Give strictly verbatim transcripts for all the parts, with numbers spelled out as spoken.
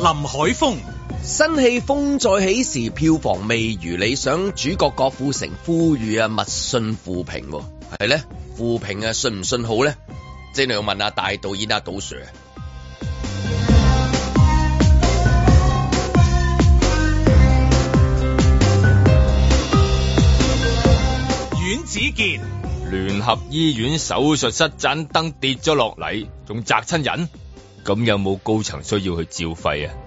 海峰。 新戲風再起時，票房未如理想，主角郭富城呼籲啊，勿信負評，係咧負評啊，信唔信好咧？即係你要問下大導演阿杜 Sir。 阮子健， 聯合醫院手術室盞燈跌咗落嚟，仲砸親人，咁有冇高層需要去照肺啊？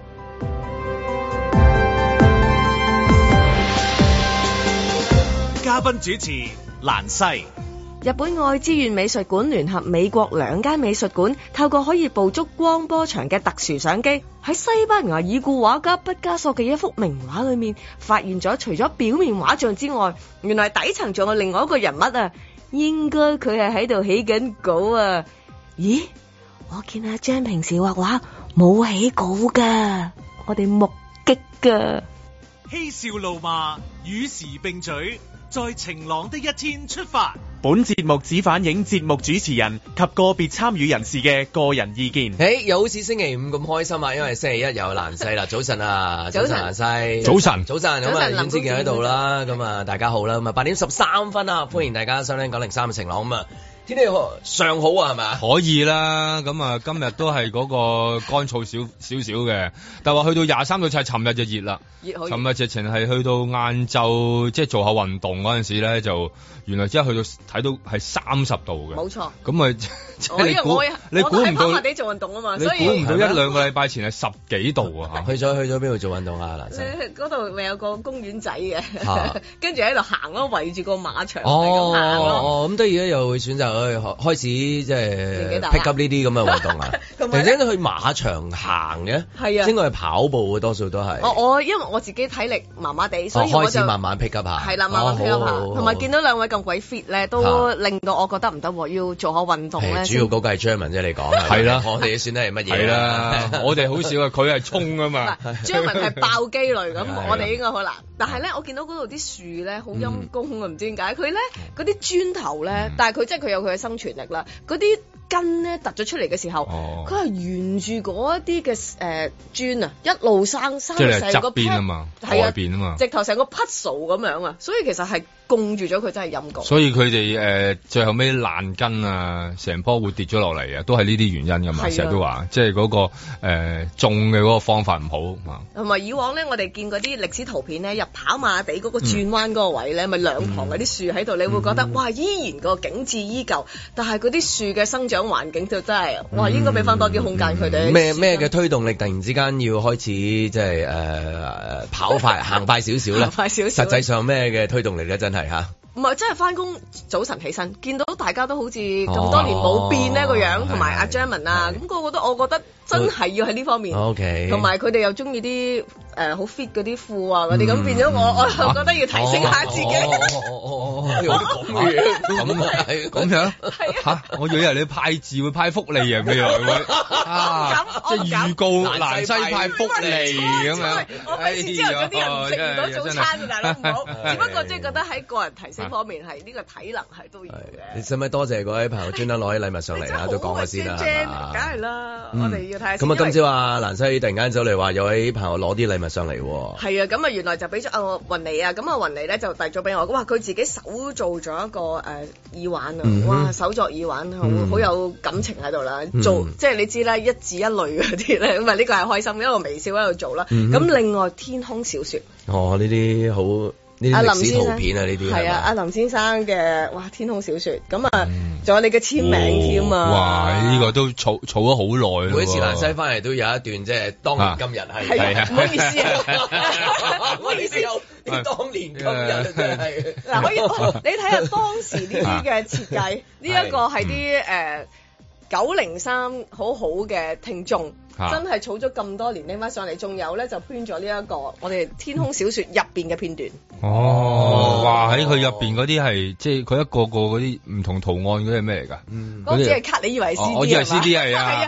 嘉賓主持蘭西。 日本愛知縣美術館聯合美國兩間美術館，透過可以捕捉光波長嘅特殊相機，喺西班牙已故畫家畢加索嘅一幅名畫裏面，發現咗除咗表面畫像之外，原來底層仲有另外一個人物啊！應該佢係喺度起緊稿啊！咦，我見阿張平時畫畫冇起稿噶，我哋目擊噶。 嬉笑怒罵，與時並舉，在晴朗的一天出發。 本節目只反映節目主持人及個別參與人士嘅個人意見。 誒，又好似星期五咁開心啊，因為星期一有蘭西啦。早晨啊，早晨蘭西， 早晨， 早晨，咁啊，阮子健喺度啦，咁啊，大家好啦，咁啊，八點十三分啊，歡迎大家收聽九零三嘅晴朗咁啊。天氣尚好啊，係咪？ 可以啦，咁啊，今日都係嗰個乾燥少少少嘅，但係話去到廿三度，就係尋日就熱啦。熱好熱。尋日直情係去到晏晝，即係做下運動嗰陣時咧，就原來即係去到睇到係三十度嘅。冇錯。咁啊，即係你估你估唔到？我喺跑馬地做運動啊嘛，所以你估唔到一兩個禮拜前係十幾度啊！嚇。去咗去咗邊度做運動啊？嗱， 嗰度咪有個公園仔嘅，跟住喺度行咯，圍住個馬場哦哦，咁都而家又會選擇。開始即係 pick up 呢啲咁嘅運動啊！突然間去馬場行嘅，係啊，應該係跑步嘅多數都係。我我因為我自己體力麻麻地，所以我就開始慢慢 pick up 下。係啦，慢慢 pick up 下。同埋見到兩位咁鬼 fit 咧，都令到我覺得唔得喎，要做下運動咧。主要嗰個係 Jerman 啫，你講係啦，我哋算係乜嘢？係啦， 我哋好少啊，佢係衝啊嘛。 Jerman 係爆機類咁，我哋應該好難。但係咧，我見到嗰度啲樹咧好陰公啊，唔知點解佢咧嗰啲磚頭咧，但係佢即係佢有佢嘅生存力啦，嗰啲根咧突咗出嚟嘅時候，佢係、哦、沿住嗰一啲嘅誒磚啊，一路生生成個側邊啊嘛，外邊啊嘛，直頭成個 puzzle 咁樣啊，所以其實係供住咗佢，真係陰功。 所以佢哋誒最後尾爛根啊，成棵會跌咗落嚟啊，都係呢啲原因噶嘛，成日都話，即係嗰個誒、呃、種嘅嗰個方法唔好啊。同埋以往咧，我哋見嗰啲歷史圖片咧，入跑馬地嗰個轉彎嗰個位咧，咪、嗯、兩旁嗰啲樹喺度，你會覺得、嗯、哇，依然個景緻依舊，但係嗰啲樹嘅生長環境就真係，哇！應該俾翻多啲空間佢哋。咩咩嘅推動力突然之間要開始即係誒跑快行快少少咧？快少少。實際上咩嘅推動力咧？真係嚇。唔係，真係翻工早晨起身，見到大家都好似咁多年冇變呢個樣，同埋阿 Jerman 啊，咁個個都我覺得真係要喺呢方面。OK。同埋佢哋又中意啲誒好 fit 嗰啲褲啊嗰啲，咁變咗我我就覺得要提升下自己。哦哦哦哦，有啲咁嘅嘢，咁啊係咁樣。係啊。嚇！我以為你派字會派福利啊咩啊？即係預告蘭西派福利咁樣。我費事之後嗰啲人唔食唔到早餐嘅，大佬唔好。只不過即係覺得喺個人提升。呢方面係呢個體能係都要嘅。你使唔使多謝嗰位朋友專登攞啲禮物上嚟啊？都講下先啦。梗係啦，我哋要睇下。咁啊，今朝啊，蘭西突然間走嚟話有位朋友攞啲禮物上嚟。係啊，咁啊，原來就俾咗阿雲妮啊，咁啊雲妮咧就遞咗俾我。哇，佢自己手做咗一個誒耳環啊！哇，手作耳環好好有感情喺度啦。做即係你知啦，一字一類嗰啲咧，咁啊呢個係開心，一個微笑喺度做啦。咁另外天空小説。哦，呢啲好。阿林先生片啊，呢啲係啊，阿林先生嘅哇天空小説，咁啊仲有你嘅簽名添啊！哇，呢個都儲儲咗好耐。每一次蘭西翻嚟都有一段即係當年今日係係啊，唔好意思啊，唔好意思，你當年今日真係嗱，可以你睇下當時呢啲嘅設計，呢一個係啲誒九零三好好嘅聽眾。真係儲咗咁多年拎翻上嚟，仲有咧就編咗呢一個我哋天空小説入邊嘅片段。哦，哇！喺佢入邊嗰啲係即係佢一個個嗰啲唔同圖案嗰啲係咩嚟㗎？嗯，嗰啲係卡，你以為 C D 係嘛？我以為 C D 係啊。係啊，因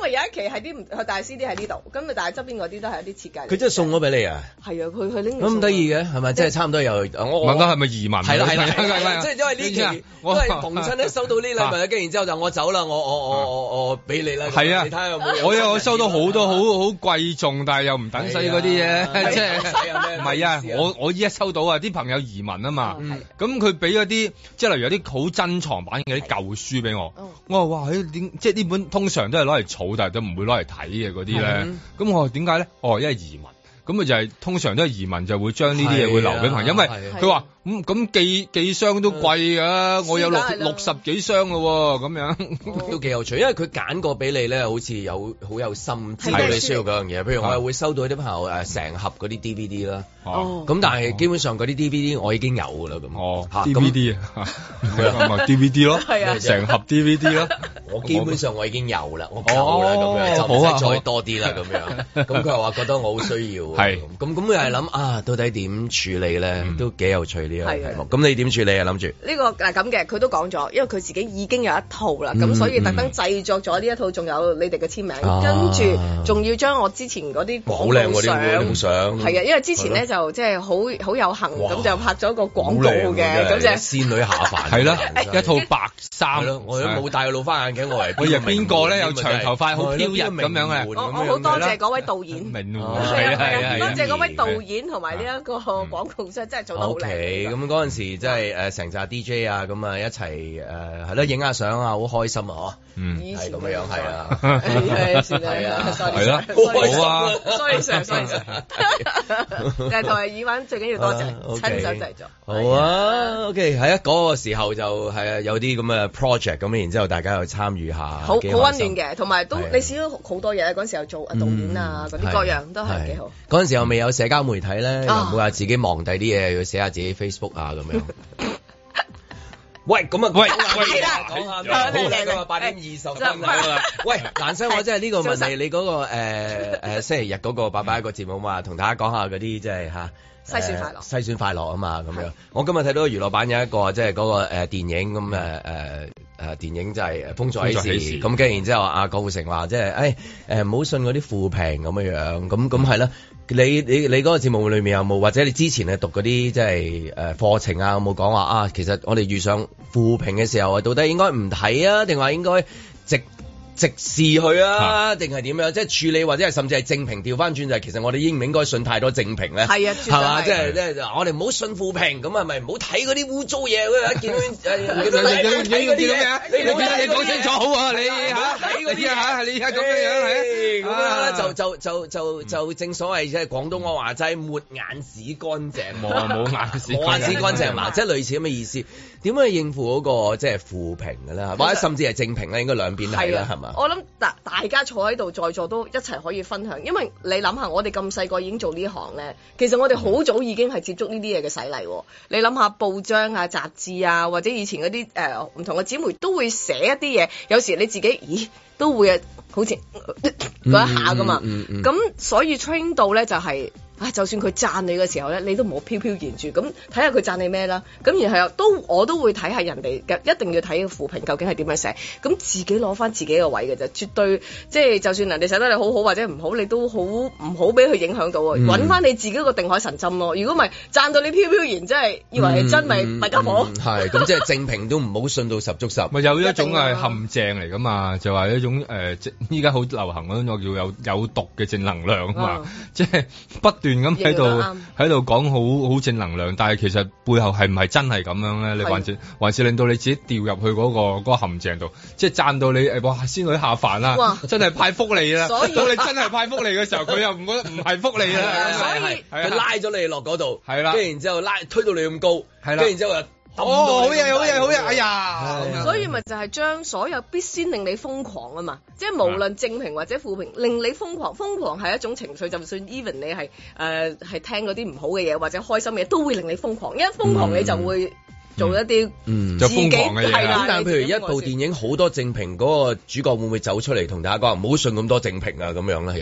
因為有一期係啲唔，佢大 C D 喺呢度，咁啊但係側邊嗰啲都係一啲設計。 佢真係送咗俾你啊？係啊，佢佢拎咁得意嘅係咪？即係差唔多又我問緊係咪移民？ 係啦係啦，即係因為呢期都係逢親咧收到呢禮物，跟住然之後就我走啦，我我我我我俾你啦。係啊，你睇下有冇？ 我有我收到好多好好貴重，但係又唔等使嗰啲嘢，即係唔係啊？我我依家收到啊，啲朋友移民啊嘛，咁佢俾嗰啲即係例如有啲好珍藏版嘅啲舊書俾我，我話哇，點即係呢本通常都係攞嚟儲，但係都唔會攞嚟睇嘅嗰啲咧，咁我話點解咧？哦，因為移民。咁咪就係通常都係移民就會將呢啲嘢會留俾朋友，因為佢話咁咁寄寄箱都貴㗎，我有六六十幾箱咯喎，咁樣都幾有趣，因為佢揀過俾你咧，好似有好有心知道你需要嗰樣嘢。譬如我係會收到啲朋友誒成盒嗰啲 D V D 啦，咁但係基本上嗰啲 D V D 我已經有㗎啦，咁哦 D V D 啊，咪 D V D 咯，成盒 D V D 咯， 我基本上我已經有啦，我夠啦咁樣，就唔使再多啲啦咁樣。咁佢又話覺得我好需要。係，咁咁又係諗啊，到底點處理咧？都幾有趣呢個題目。咁你點處理啊？諗住呢個係咁嘅，佢都講咗，因為佢自己已經有一套啦，咁所以特登製作咗呢一套，仲有你哋嘅簽名，跟住仲要將我之前嗰啲廣告相，相係啊，因為之前咧就即係好好有幸咁就拍咗個廣告嘅，咁就仙女下凡係啦，一套白衫， 我都冇戴老花眼鏡，我係我係邊個咧？有長頭髮，好飄逸咁樣嘅。 我我好多謝嗰位導演， 明係係。 多謝嗰位導演同埋呢一個廣告真真係做得好靚。 OK，咁嗰陣時即係誒成紮 D J 啊，咁啊一齊誒係咯影下相啊，好開心啊嗬。嗯，係咁樣樣係啊， 係係啊， 係啦，好啊 ，sorry sir，sorry sir。誒同埋耳環最緊要多謝親手製作。 好啊 ，OK，係啊，嗰個時候就係啊有啲咁嘅 project 咁，然之後大家又參與下， 好好溫暖嘅，同埋都你試咗好多嘢嗰陣時候做導演啊嗰啲各樣都係幾好。 嗰陣時候未有社交媒體咧，又唔會話自己忙第啲嘢，要寫下自己 Facebook 啊咁樣。喂，咁啊，喂， 係啦， 講下咩？好啦，今日八點二十分啦。喂，蘭生，我真係呢個問你，你嗰個誒誒星期日嗰個拜拜一個節目嘛，同大家講下嗰啲即係嚇。 篩選快樂， 篩選快樂啊嘛，咁樣。我今日睇到娛樂版有一個即係嗰個誒電影咁誒誒誒電影就係《風再起時》咁，跟住然之後阿郭富城話即係誒誒唔好信嗰啲負評咁樣樣，咁咁係啦。你你你嗰個節目裏面有冇或者你之前係讀嗰啲即係誒課程啊，有冇講話啊？其實我哋遇上負評嘅時候啊，到底應該唔睇啊，定話應該直直視佢啊，定係點樣？即係處理或者係甚至係正評調翻轉就係，其實我哋應唔應該信太多正評咧？ 係啊， 係嘛？即係即係我哋唔好信負評，咁係咪唔好睇嗰啲污糟嘢？嗰見到誒見到睇嗰啲嘢，你你講清楚好啊！你嚇睇嗰啲嚇，你而家咁樣樣係咁樣就就就就就正所謂即係廣東話話齋抹眼屎乾淨， 冇冇眼屎， 冇眼屎乾淨嘛，即係類似咁嘅意思。點樣去應付嗰個即係負評嘅咧？或者甚至係正評咧？應該兩邊係啦，係嘛？ 我諗大大家坐喺度在座都一齊可以分享，因為你諗下，我哋咁細個已經做呢行咧，其實我哋好早已經係接觸呢啲嘢嘅洗禮。你諗下報章啊、雜誌啊，或者以前嗰啲誒唔同嘅紙媒都會寫一啲嘢，有時你自己咦都會啊，好似嗰一下噶嘛。咁、嗯嗯嗯、所以 train 到咧就係、是。啊！就算佢讚你嘅時候咧，你都唔好飄飄然住，咁睇下佢讚你咩啦。咁然後都我都會睇下人哋嘅，一定要睇個負評究竟係點樣寫。咁自己攞翻自己個位嘅啫，絕對即係就算人哋寫得你好好或者唔好，你都好唔好俾佢影響到啊！揾翻、嗯、你自己個定海神針咯。如果唔係讚到你飄飄然，真係以為係真，咪咪家伙。係咁，即係正評都唔好信到十足十。 咪有一種係陷阱嚟噶嘛？就話一種誒，即依家好流行嗰種叫有有毒嘅正能量啊嘛，即係不斷。咁喺度喺度講好好正能量，但係其實背後係唔係真係咁樣咧？你還是還是令到你自己掉入去嗰個嗰個陷阱度，即係讚到你誒哇仙女下凡啦，哇真係派福利啦！到你真係派福利嘅時候，佢又唔覺得唔係福利啦， 所以佢拉咗你落嗰度， 係啦， 跟住然之後拉推到你咁高，係啦，跟住然之後又。 哦，好嘢，好嘢，好嘢！哎呀， 所以咪就係將所有必先令你瘋狂啊嘛，即係無論正評或者負評，令你瘋狂。瘋狂係一種情緒，就算 even 你係誒係聽嗰啲唔好嘅嘢或者開心嘅嘢，都會令你瘋狂。因為瘋狂你就會做一啲嗯就瘋狂嘅嘢。 咁但係譬如一部電影好多正評，嗰個主角會唔會走出嚟同大家講唔好信咁多正評啊？咁樣咧有。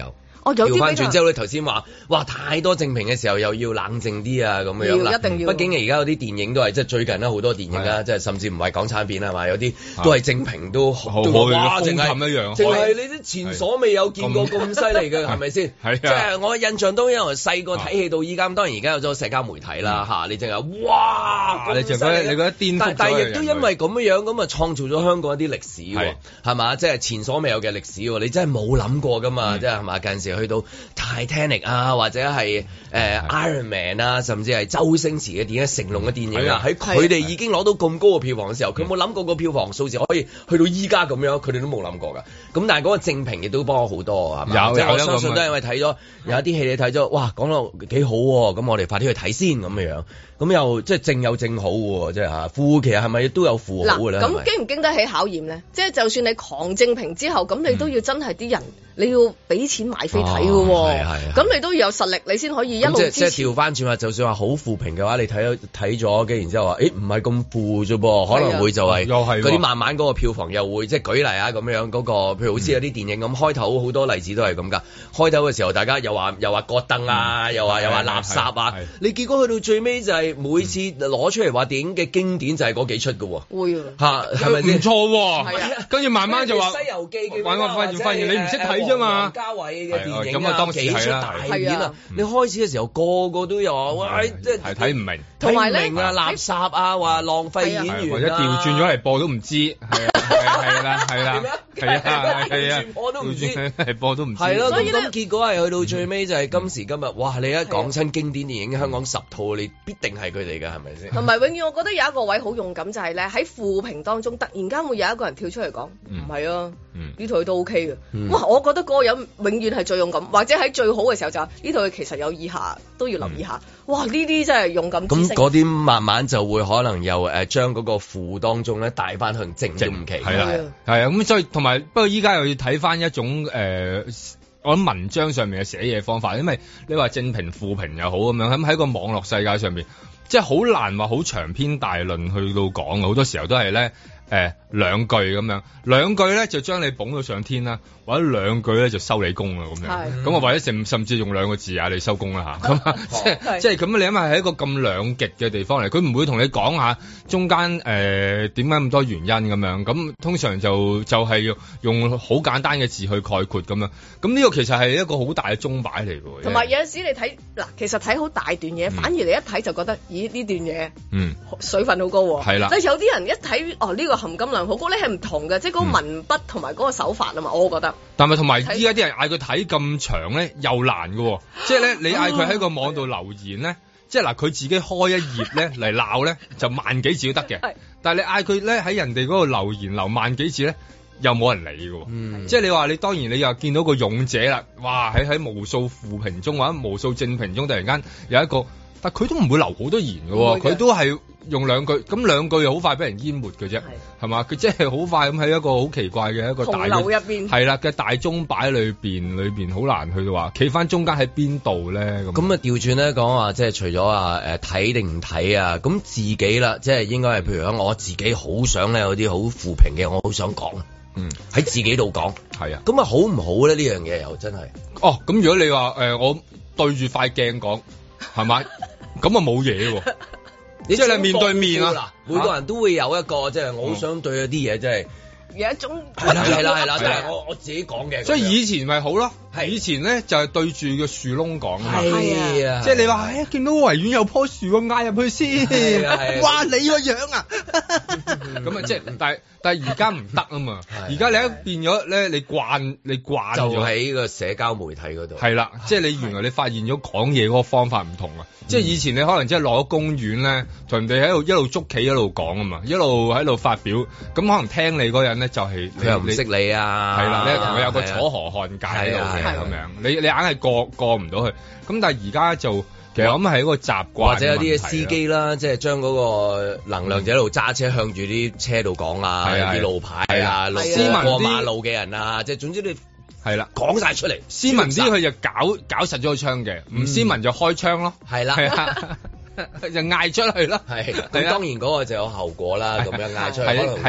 哦，有啲調翻轉之後，你頭先話哇太多正評嘅時候，又要冷靜啲啊咁樣啦。 一定要。 畢竟而家有啲電影都係即係最近啦，好多電影啦，即係甚至唔係港產片係嘛，有啲都係正評都都哇，淨係一樣， 淨係你啲前所未有見過咁犀利嘅係咪先？係即係我印象當中，由細個睇戲到依家，當然而家有咗社交媒體啦嚇，你淨係哇，你覺得你覺得顛覆，但係亦都因為咁樣樣咁啊，創造咗香港一啲歷史喎，係嘛？即係前所未有嘅歷史喎，你真係冇諗過㗎嘛？即係係嘛？近時去到 Titanic 啊，或者係誒 Iron Man 啊，甚至係周星馳嘅電影、成龍嘅電影啊，喺佢哋已經攞到咁高嘅票房嘅時候，佢冇諗過個票房數字可以去到依家咁樣，佢哋都冇諗過㗎。咁但係嗰個正評亦都幫我好多係嘛？即係我相信都係因為睇咗有一啲戲你睇咗，哇講到幾好喎，咁我哋快啲去睇先咁嘅樣。咁又即係正有正好喎，即係嚇負其實係咪都有負好嘅咧？ 咁經唔經得起考驗咧？即係就算你狂正評之後，咁你都要真係啲人。你要俾錢買飛睇嘅喎，咁你都要有實力，你先可以一路支持。 即係調翻轉話，就算話好負評嘅話，你睇咗睇咗嘅，然之後話，誒唔係咁負啫噃，可能會就係嗰啲慢慢嗰個票房又會即係舉例啊咁樣嗰個，譬如好似有啲電影咁，開頭好多例子都係咁㗎。開頭嘅時候，大家又話又話割燈啊，又話又話垃圾啊，你結果去到最尾就係每次攞出嚟話電影嘅經典就係嗰幾出嘅喎。會嚇係咪先？ 唔錯喎，跟住慢慢就話《 西遊記》 玩我發現發現你唔識睇。王家衛嘅電影啊，幾出大片啊！你開始嘅時候個個都有話，哇！即係睇唔明， 睇唔明啊，垃圾啊，話浪費演員或者調轉咗嚟播都唔知，係啊，係啦，係啦，係啊，係啊， 我都唔知係播都唔知。 係咯，咁咁結果係去到最尾就係今時今日，哇！你一講親經典電影，香港十套你必定係佢哋㗎，係咪先？ 同埋永遠我覺得有一個位好勇敢，就係咧喺負評當中，突然間會有一個人跳出嚟講，唔係啊，呢套都 OK 嘅。哇！我覺得嗰個人永遠係最勇敢，或者喺最好嘅時候就呢套其實有以下都要留意下。哇！呢啲真係勇敢之聲。 咁嗰啲慢慢就會可能又誒將嗰個負當中咧帶翻向正正期。 係啦，係啊。咁所以同埋不過依家又要睇翻一種誒、呃，我諗文章上面嘅寫嘢方法，因為你話正評負評又好咁樣，咁喺個網絡世界上面，即係好難話好長篇大論去到講，好多時候都係咧。誒、呃、兩句咁樣，兩句咧就將你捧到上天啦，或者兩句咧就收你工啦咁樣，咁啊或者甚甚至用兩個字啊你收工啦嚇，咁啊即係即係咁你因為係一個咁兩極嘅地方嚟，佢唔會同你講下中間誒點解咁多原因咁樣，咁通常就就係、是、用用好簡單嘅字去概括咁樣，咁呢個其實係一個好大嘅鐘擺嚟嘅。 同埋有陣時你睇嗱，其實睇好大段嘢，嗯、反而你一睇就覺得，咦呢段嘢嗯水分好高喎，係啦，但係有啲人一睇哦呢、呢個含金量好高咧，係唔同嘅，即係嗰個文筆同埋嗰個手法啊嘛，我覺得。 但係同埋依家啲人嗌佢睇咁長咧，又難嘅，即係咧你嗌佢喺個網度留言咧，即係嗱佢自己開一頁咧嚟鬧咧，就萬幾字都得嘅。但係你嗌佢咧喺人哋嗰度留言留萬幾字咧，又冇人理嘅。嗯、即係你話你當然你又見到個勇者啦，哇喺喺無數負評中或者無數正評中，突然間有一個，但佢都唔會留好多言嘅，佢都係。用兩句，咁兩句又好快俾人淹沒嘅啫，係嘛？佢即係好快咁喺一個好奇怪嘅一個大流入邊， 係啦嘅大鐘擺裏邊，裏邊好難去到話企翻中間喺邊度咧咁。咁啊調轉咧講話，即係除咗話誒睇定唔睇啊，咁自己啦，即係應該係譬如講我自己好想咧有啲好負評嘅，我好想講，嗯喺自己度講，係啊，咁啊好唔好咧？呢樣嘢又真係哦，咁如果你話誒、呃、我對住塊鏡講，係咪？咁啊冇嘢喎。即係你面對面啊！ 每個人都會有一個，即係我好想對一啲嘢，即係有一種係啦係啦係啦，但係我我自己講嘅。 所以以前咪好咯，以前咧就係對住個樹窿講啊， 係啊， 即係你話哎呀見到維園有棵樹，我嗌入去先，哇你個樣啊！咁啊即係但係但係而家唔得啊嘛，而家你一變咗咧，你慣你慣咗就喺個社交媒體嗰度， 係啦，即係你原來你發現咗講嘢嗰個方法唔同啊。即係以前你可能即係落咗公園咧，同人哋喺度一路捉棋一路講啊嘛，一路喺度發表，咁可能聽你嗰人咧就係佢又唔識你啊， 係啦，你同佢有個楚河漢界喺度嘅咁樣，你你硬係過過唔到去。咁但係而家就其實咁係一個習慣， 或者有啲司機啦，即係將嗰個能量就一路揸車向住啲車度講啊，啲路牌啊，路過馬路嘅人啊，即係總之你。 係啦， 講晒出嚟， 斯文啲佢就搞搞實咗個槍嘅，唔斯文就開槍咯， 係啦， 係啊，就嗌出去咯， 係，咁當然嗰個就有後果啦，咁樣嗌出去， 係係啦，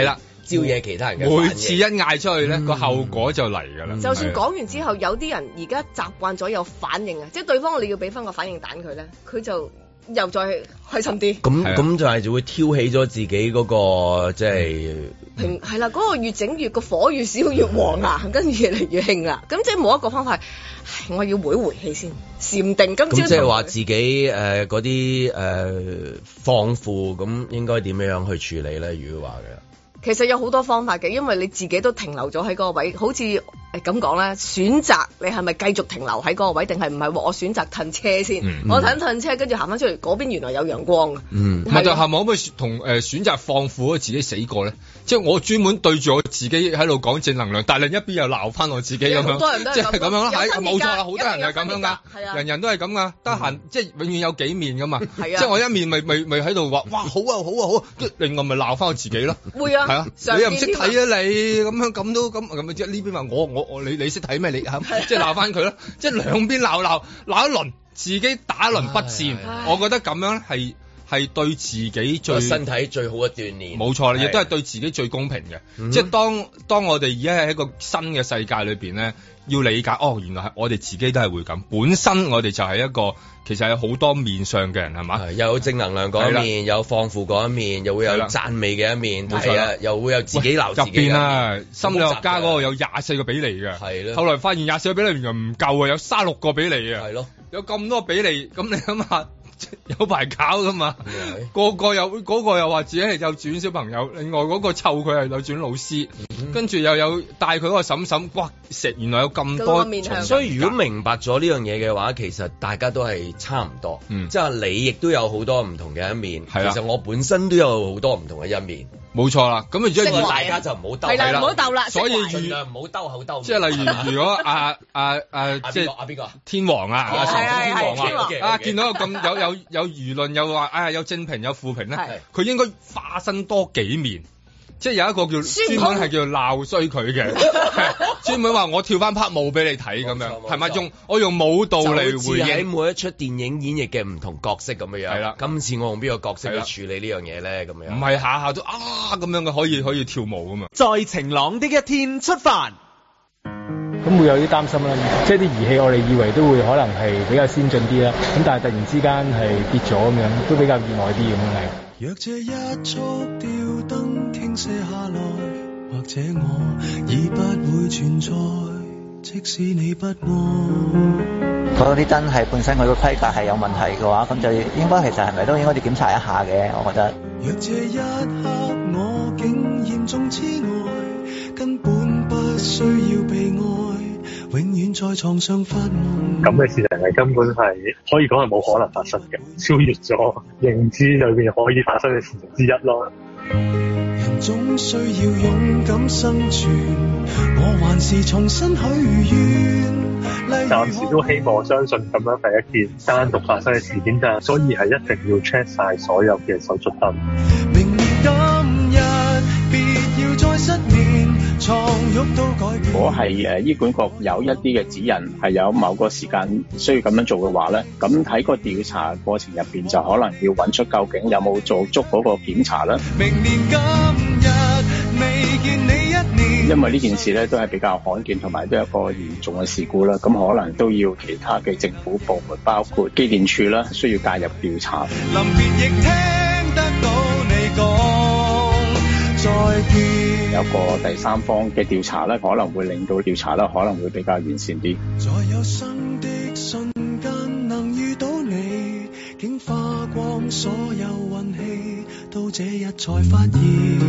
招惹其他人嘅。 每次一嗌出去咧，個、嗯、後果就嚟㗎啦。 就算講完之後，有啲人而家習慣咗有反應啊，即係對方我哋要俾翻個反應彈佢咧，佢就又再開心啲。 咁咁就係就會挑起咗自己嗰、那個即係平係啦，嗰、那個越整越個火越少越旺啊，跟住越嚟越興啦。咁即係冇一個方法，我要回回氣先，禪定。咁即係話自己誒嗰啲誒放負，咁應該點樣樣去處理咧？如果話嘅。 其實有好多方法嘅，因為你自己都停留咗喺嗰個位，好似誒咁講咧，選擇你係咪繼續停留喺嗰個位，定係唔係？我選擇褪車先，嗯、我褪褪車，跟住行翻出嚟，嗰邊原來有陽光嘅。嗯， 唔係就係咪可唔可以同誒選擇放負自己死過咧？即係我專門對住我自己喺度講正能量，但係另一邊又鬧翻我自己咁樣。好多人都係咁樣咯，係冇錯啦，好多人係咁樣噶，人人都係咁噶，得閒即係永遠有幾面噶嘛。即係我一面咪咪咪喺度話，哇好啊好啊好啊，跟住另外咪鬧翻我自己咯。會啊。係啊，你又唔識睇啊你，咁樣咁都咁咁即係呢邊話我我我你你識睇咩你即係鬧翻佢咯，即係兩邊鬧鬧鬧一輪，自己打一輪不戰，我覺得咁樣係係對自己最身體最好嘅鍛鍊， 冇錯啦，亦都係對自己最公平嘅。嗯、即係當當我哋而家喺一個新嘅世界裏邊咧，要理解哦，原來係我哋自己都係會咁，本身我哋就係一個其實有好多面上嘅人係嘛， 又有正能量嗰一面，有放負嗰一面，又會有讚美嘅一面，係啊，又會有自己鬧自己嘅一面。入邊啊，心理學家嗰個有廿四個比例嘅，係咯。後來發現廿四個比例原來唔夠啊，有卅六個比例啊，係咯，有咁多比例，咁你諗下。有排搞噶嘛？個個又嗰、嗰個又話自己係幼稚園小朋友，另外嗰個湊佢係幼稚園老師，嗯、跟住又有帶佢嗰個嬸嬸，哇！食原來有咁多， 所以如果明白咗呢樣嘢嘅話，其實大家都係差唔多，嗯、即係你亦都有好多唔同嘅一面，其實我本身都有好多唔同嘅一面。 冇錯啦，咁啊，如果大家就唔好鬥， 係啦，唔好鬥啦， 所以盡量唔好兜口兜面。 即係例如，如果阿阿阿即係阿邊個天王啊，阿神天王啊，啊見到咁有有有輿論又話啊有正評有負評咧，佢應該化身多幾面。即係有一個叫專門係叫鬧衰佢嘅，專門話我跳翻 part 舞俾你睇咁樣，係咪用我用舞蹈嚟回應喺每一出電影演繹嘅唔同角色咁樣樣。係啦，今次我用邊個角色去處理呢樣嘢咧？咁樣唔係下下都啊咁樣嘅，可以可以跳舞噶嘛？ 在晴朗的一天出發， 咁會有啲擔心啦。即係啲儀器我哋以為都會可能係比較先進啲啦，咁但係突然之間係跌咗咁樣，都比較意外啲咁樣係。 若這一束吊燈傾瀉下來，或者我已不會存在，即使你不愛。 嗰啲燈係本身佢個規格係有問題嘅話，咁就應該其實係咪都應該要檢查一下嘅，我覺得。 若這一刻我竟嚴重痴呆，根本不需要被愛，永遠在床上發夢。咁嘅事情係根本係可以講係冇可能發生嘅，超越咗認知裏邊可以發生嘅事情之一咯。人總需要勇敢生存，我還是重新許願。暫時都希望相信咁樣係一件單獨發生嘅事件，但係所以係一定要 check 晒所有嘅手續燈。明年今日別要再失眠，床褥都改變。如果係誒醫管局有一啲嘅指引係有某個時間需要咁樣做嘅話咧，咁喺個調查過程入邊就可能要揾出究竟有冇做足嗰個檢查啦。明年今日未見你一年，因為呢件事咧都係比較罕見同埋都係一個嚴重嘅事故啦，咁可能都要其他嘅政府部門包括機電署啦，需要介入調查。臨別亦聽得到你講再見，有個第三方嘅調查咧，可能會令到調查咧可能會比較完善啲。在有生的瞬間能遇到你，竟花光所有運氣，到這日才發現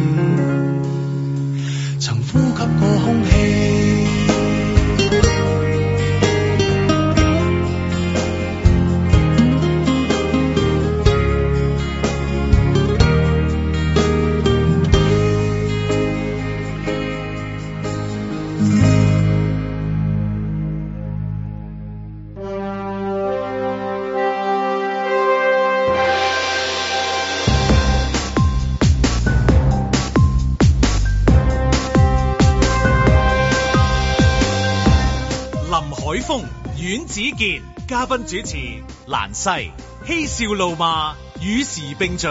曾呼吸過空氣。 阮子健嘉賓主持，蘭西嬉笑怒罵與時並舉，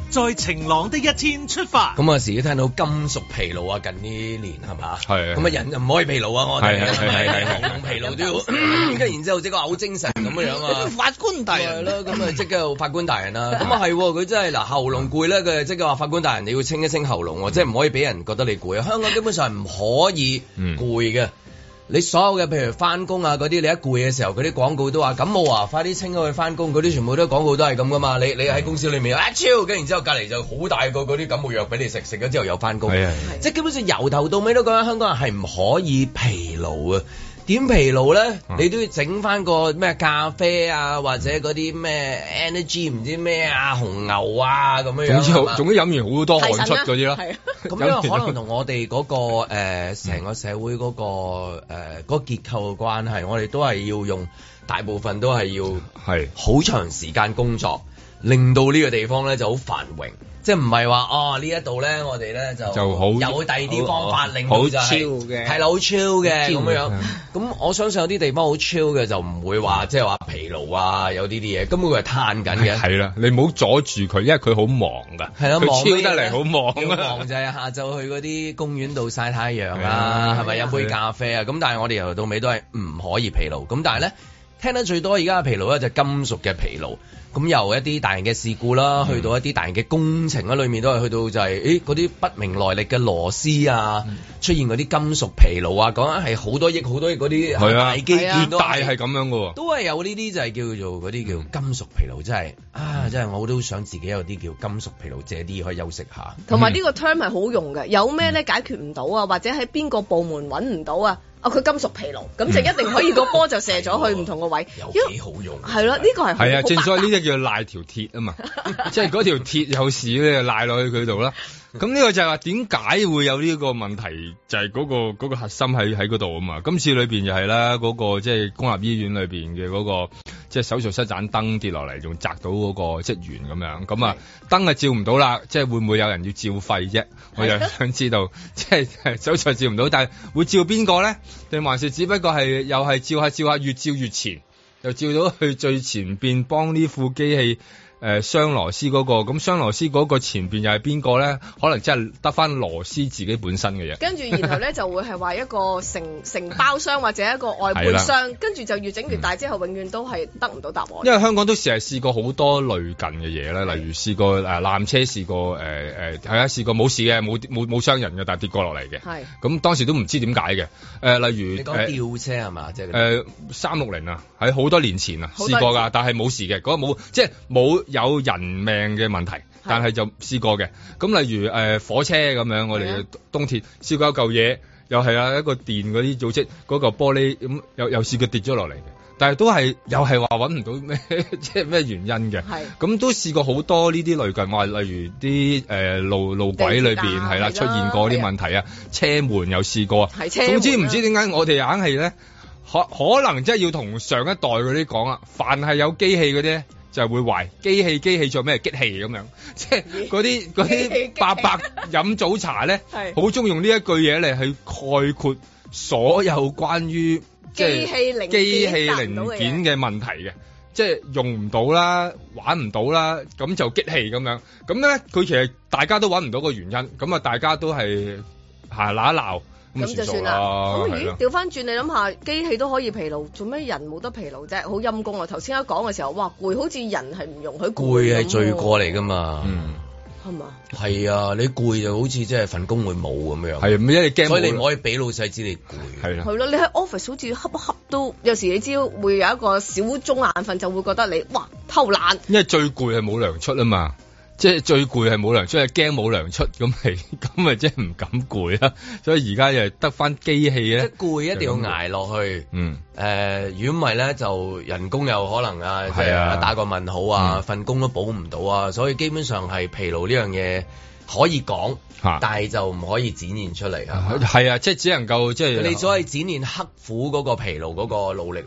在晴朗的一天出發。 咁有時都聽到金屬疲勞啊，近呢年係嘛？ 係啊。 咁啊人就唔可以疲勞啊，我哋係係係係喉嚨疲勞都要，跟然之後即刻好精神咁樣啊！ 法官大人係咯，咁啊即刻法官大人啦。咁啊係，佢真係嗱喉嚨攰咧，佢即刻話法官大人你要清一清喉嚨，即係唔可以俾人覺得你攰啊！香港基本上係唔可以攰嘅。你所有嘅譬如翻工啊嗰啲，你一攰嘅時候，嗰啲廣告都話感冒啊，快啲清咗去翻工，嗰啲全部都廣告都係咁噶嘛。你你喺公司裏面啊超，跟然之後隔離就好大個嗰啲感冒藥俾你食，食咗之後又翻工。係啊，即係基本上由頭到尾都覺得香港人係唔可以疲勞啊。點疲勞咧？嗯、你都要整翻個咩咖啡啊，或者嗰啲咩 energy 唔知咩啊，紅牛啊咁樣樣。總之好，總之飲完好多汗出嗰啲咯。係啊，咁因為可能同我哋嗰、嗰個誒成、呃、個社會嗰、嗰個誒嗰、呃嗰個結構嘅關係，我哋都係要用大部分都係要係好長時間工作，令到呢個地方咧就好繁榮。即係唔係話哦呢一度咧，我哋咧就就好有第二啲方法令到就係係啦，好 chill 嘅咁樣。咁我相信有啲地方好 chill 嘅就唔會話即係話疲勞啊，有呢啲嘢根本佢係嘆緊嘅。係啦，你唔好阻住佢，因為佢好忙㗎。係啦，佢 chill 得嚟好忙啊！忙就係下晝去嗰啲公園度曬太陽啊，係咪飲杯咖啡啊？咁但係我哋由頭到尾都係唔可以疲勞。咁但係咧聽得最多而家嘅疲勞咧就係金屬嘅疲勞。咁由一啲大型嘅事故啦，去到一啲大型嘅工程啦，裏面都係去到就係、是，誒嗰啲不明來歷嘅螺絲啊，嗯、出現嗰啲金屬疲勞啊，講緊係好多億好多億嗰啲大基建都係係咁樣嘅喎，都係有呢啲就係叫做嗰啲叫金屬疲勞，真係啊，真係我都想自己有啲叫金屬疲勞，借啲可以休息下。同埋呢個 term 係好用嘅，有咩咧解決唔到啊，或者喺邊個部門揾唔到啊？哦，佢金屬疲勞，咁就一定可以個波就射咗去唔同個位，有幾好用。係咯，呢個係係啊，正所謂呢啲叫賴條鐵啊嘛，即係嗰條鐵有事咧，賴落去佢度啦。咁呢個就係話點解會有呢個問題，就係嗰個嗰個核心喺喺嗰度啊嘛。今次裏邊就係啦，嗰個即係公立醫院裏邊嘅嗰個即係手術室盞燈跌落嚟，仲砸到嗰個職員咁樣。咁啊燈啊照唔到啦，即係會唔會有人要照肺啫？我又想知道，即係手術照唔到，但係會照邊個咧？定還是只不過係又係照下照下，越照越前，又照到去最前邊幫呢副機器。誒雙螺絲嗰個，咁雙螺絲嗰個前邊又係邊個咧？可能真係得翻螺絲自己本身嘅嘢。跟住然後咧就會係話一個承承包商或者一個外判商，跟住就越整越大之後，永遠都係得唔到答案。因為香港都成日試過好多類近嘅嘢咧，例如試過誒纜車試過誒誒係啊試過冇事嘅，冇冇冇傷人嘅，但係跌過落嚟嘅。係咁當時都唔知點解嘅。誒例如你講吊車係嘛？即係誒三六零啊，喺好多年前啊試過㗎，但係冇事嘅，嗰個冇即係冇。有人命嘅問題，但係就試過嘅。咁例如誒、呃、火車咁樣，我哋東鐵試過一嚿嘢，又係啊一個電嗰啲組織嗰嚿玻璃咁，又又試過跌咗落嚟嘅。但係都係又係話揾唔到咩，即係咩原因嘅。係咁都試過好多呢啲類近，話例如啲誒、呃、路路軌裏邊係啦出現過啲問題啊，車門又試過。係車門。總之唔知點解我哋硬係咧，可可能即係要同上一代嗰啲講啊，凡係有機器嗰啲。就係會壞機器，機器做咩？激氣咁樣，即係嗰啲嗰啲伯伯飲早茶咧，好中意用呢一句嘢嚟去概括所有關於即係機器零件嘅問題嘅，即係用唔到啦，玩唔到啦，咁就激氣咁樣。咁咧，佢其實大家都揾唔到個原因，咁啊，大家都係係鬧一鬧。咁就算啦。咁咦，調翻轉你諗下，機器都可以疲勞，做咩人冇得疲勞啫？好陰功啊！頭先一講嘅時候，哇，攰，好似人係唔容許攰。攰係罪過嚟㗎嘛。嗯。係嘛？係啊，你攰就好似即係份工會冇咁樣。係，因為你驚，所以你唔可以俾老細知你攰。係啦。係咯，你喺 office 好似恰一恰都，有時你知會有一個小鐘眼瞓，就會覺得你哇偷懶。因為最攰係冇糧出啊嘛。即係最攰係冇糧出，係驚冇糧出，咁係咁咪即係唔敢攰啦。所以而家又得翻機器咧，即係攰一定要捱落去。嗯，誒，如果唔係咧，就人工又可能啊，即係打個問號啊，份、嗯、工都補唔到啊。所以基本上係疲勞呢樣嘢可以講，啊、但係就唔可以展現出嚟啊。係啊，即係只能夠即係你只可以展現刻苦嗰個疲勞嗰個努力咯。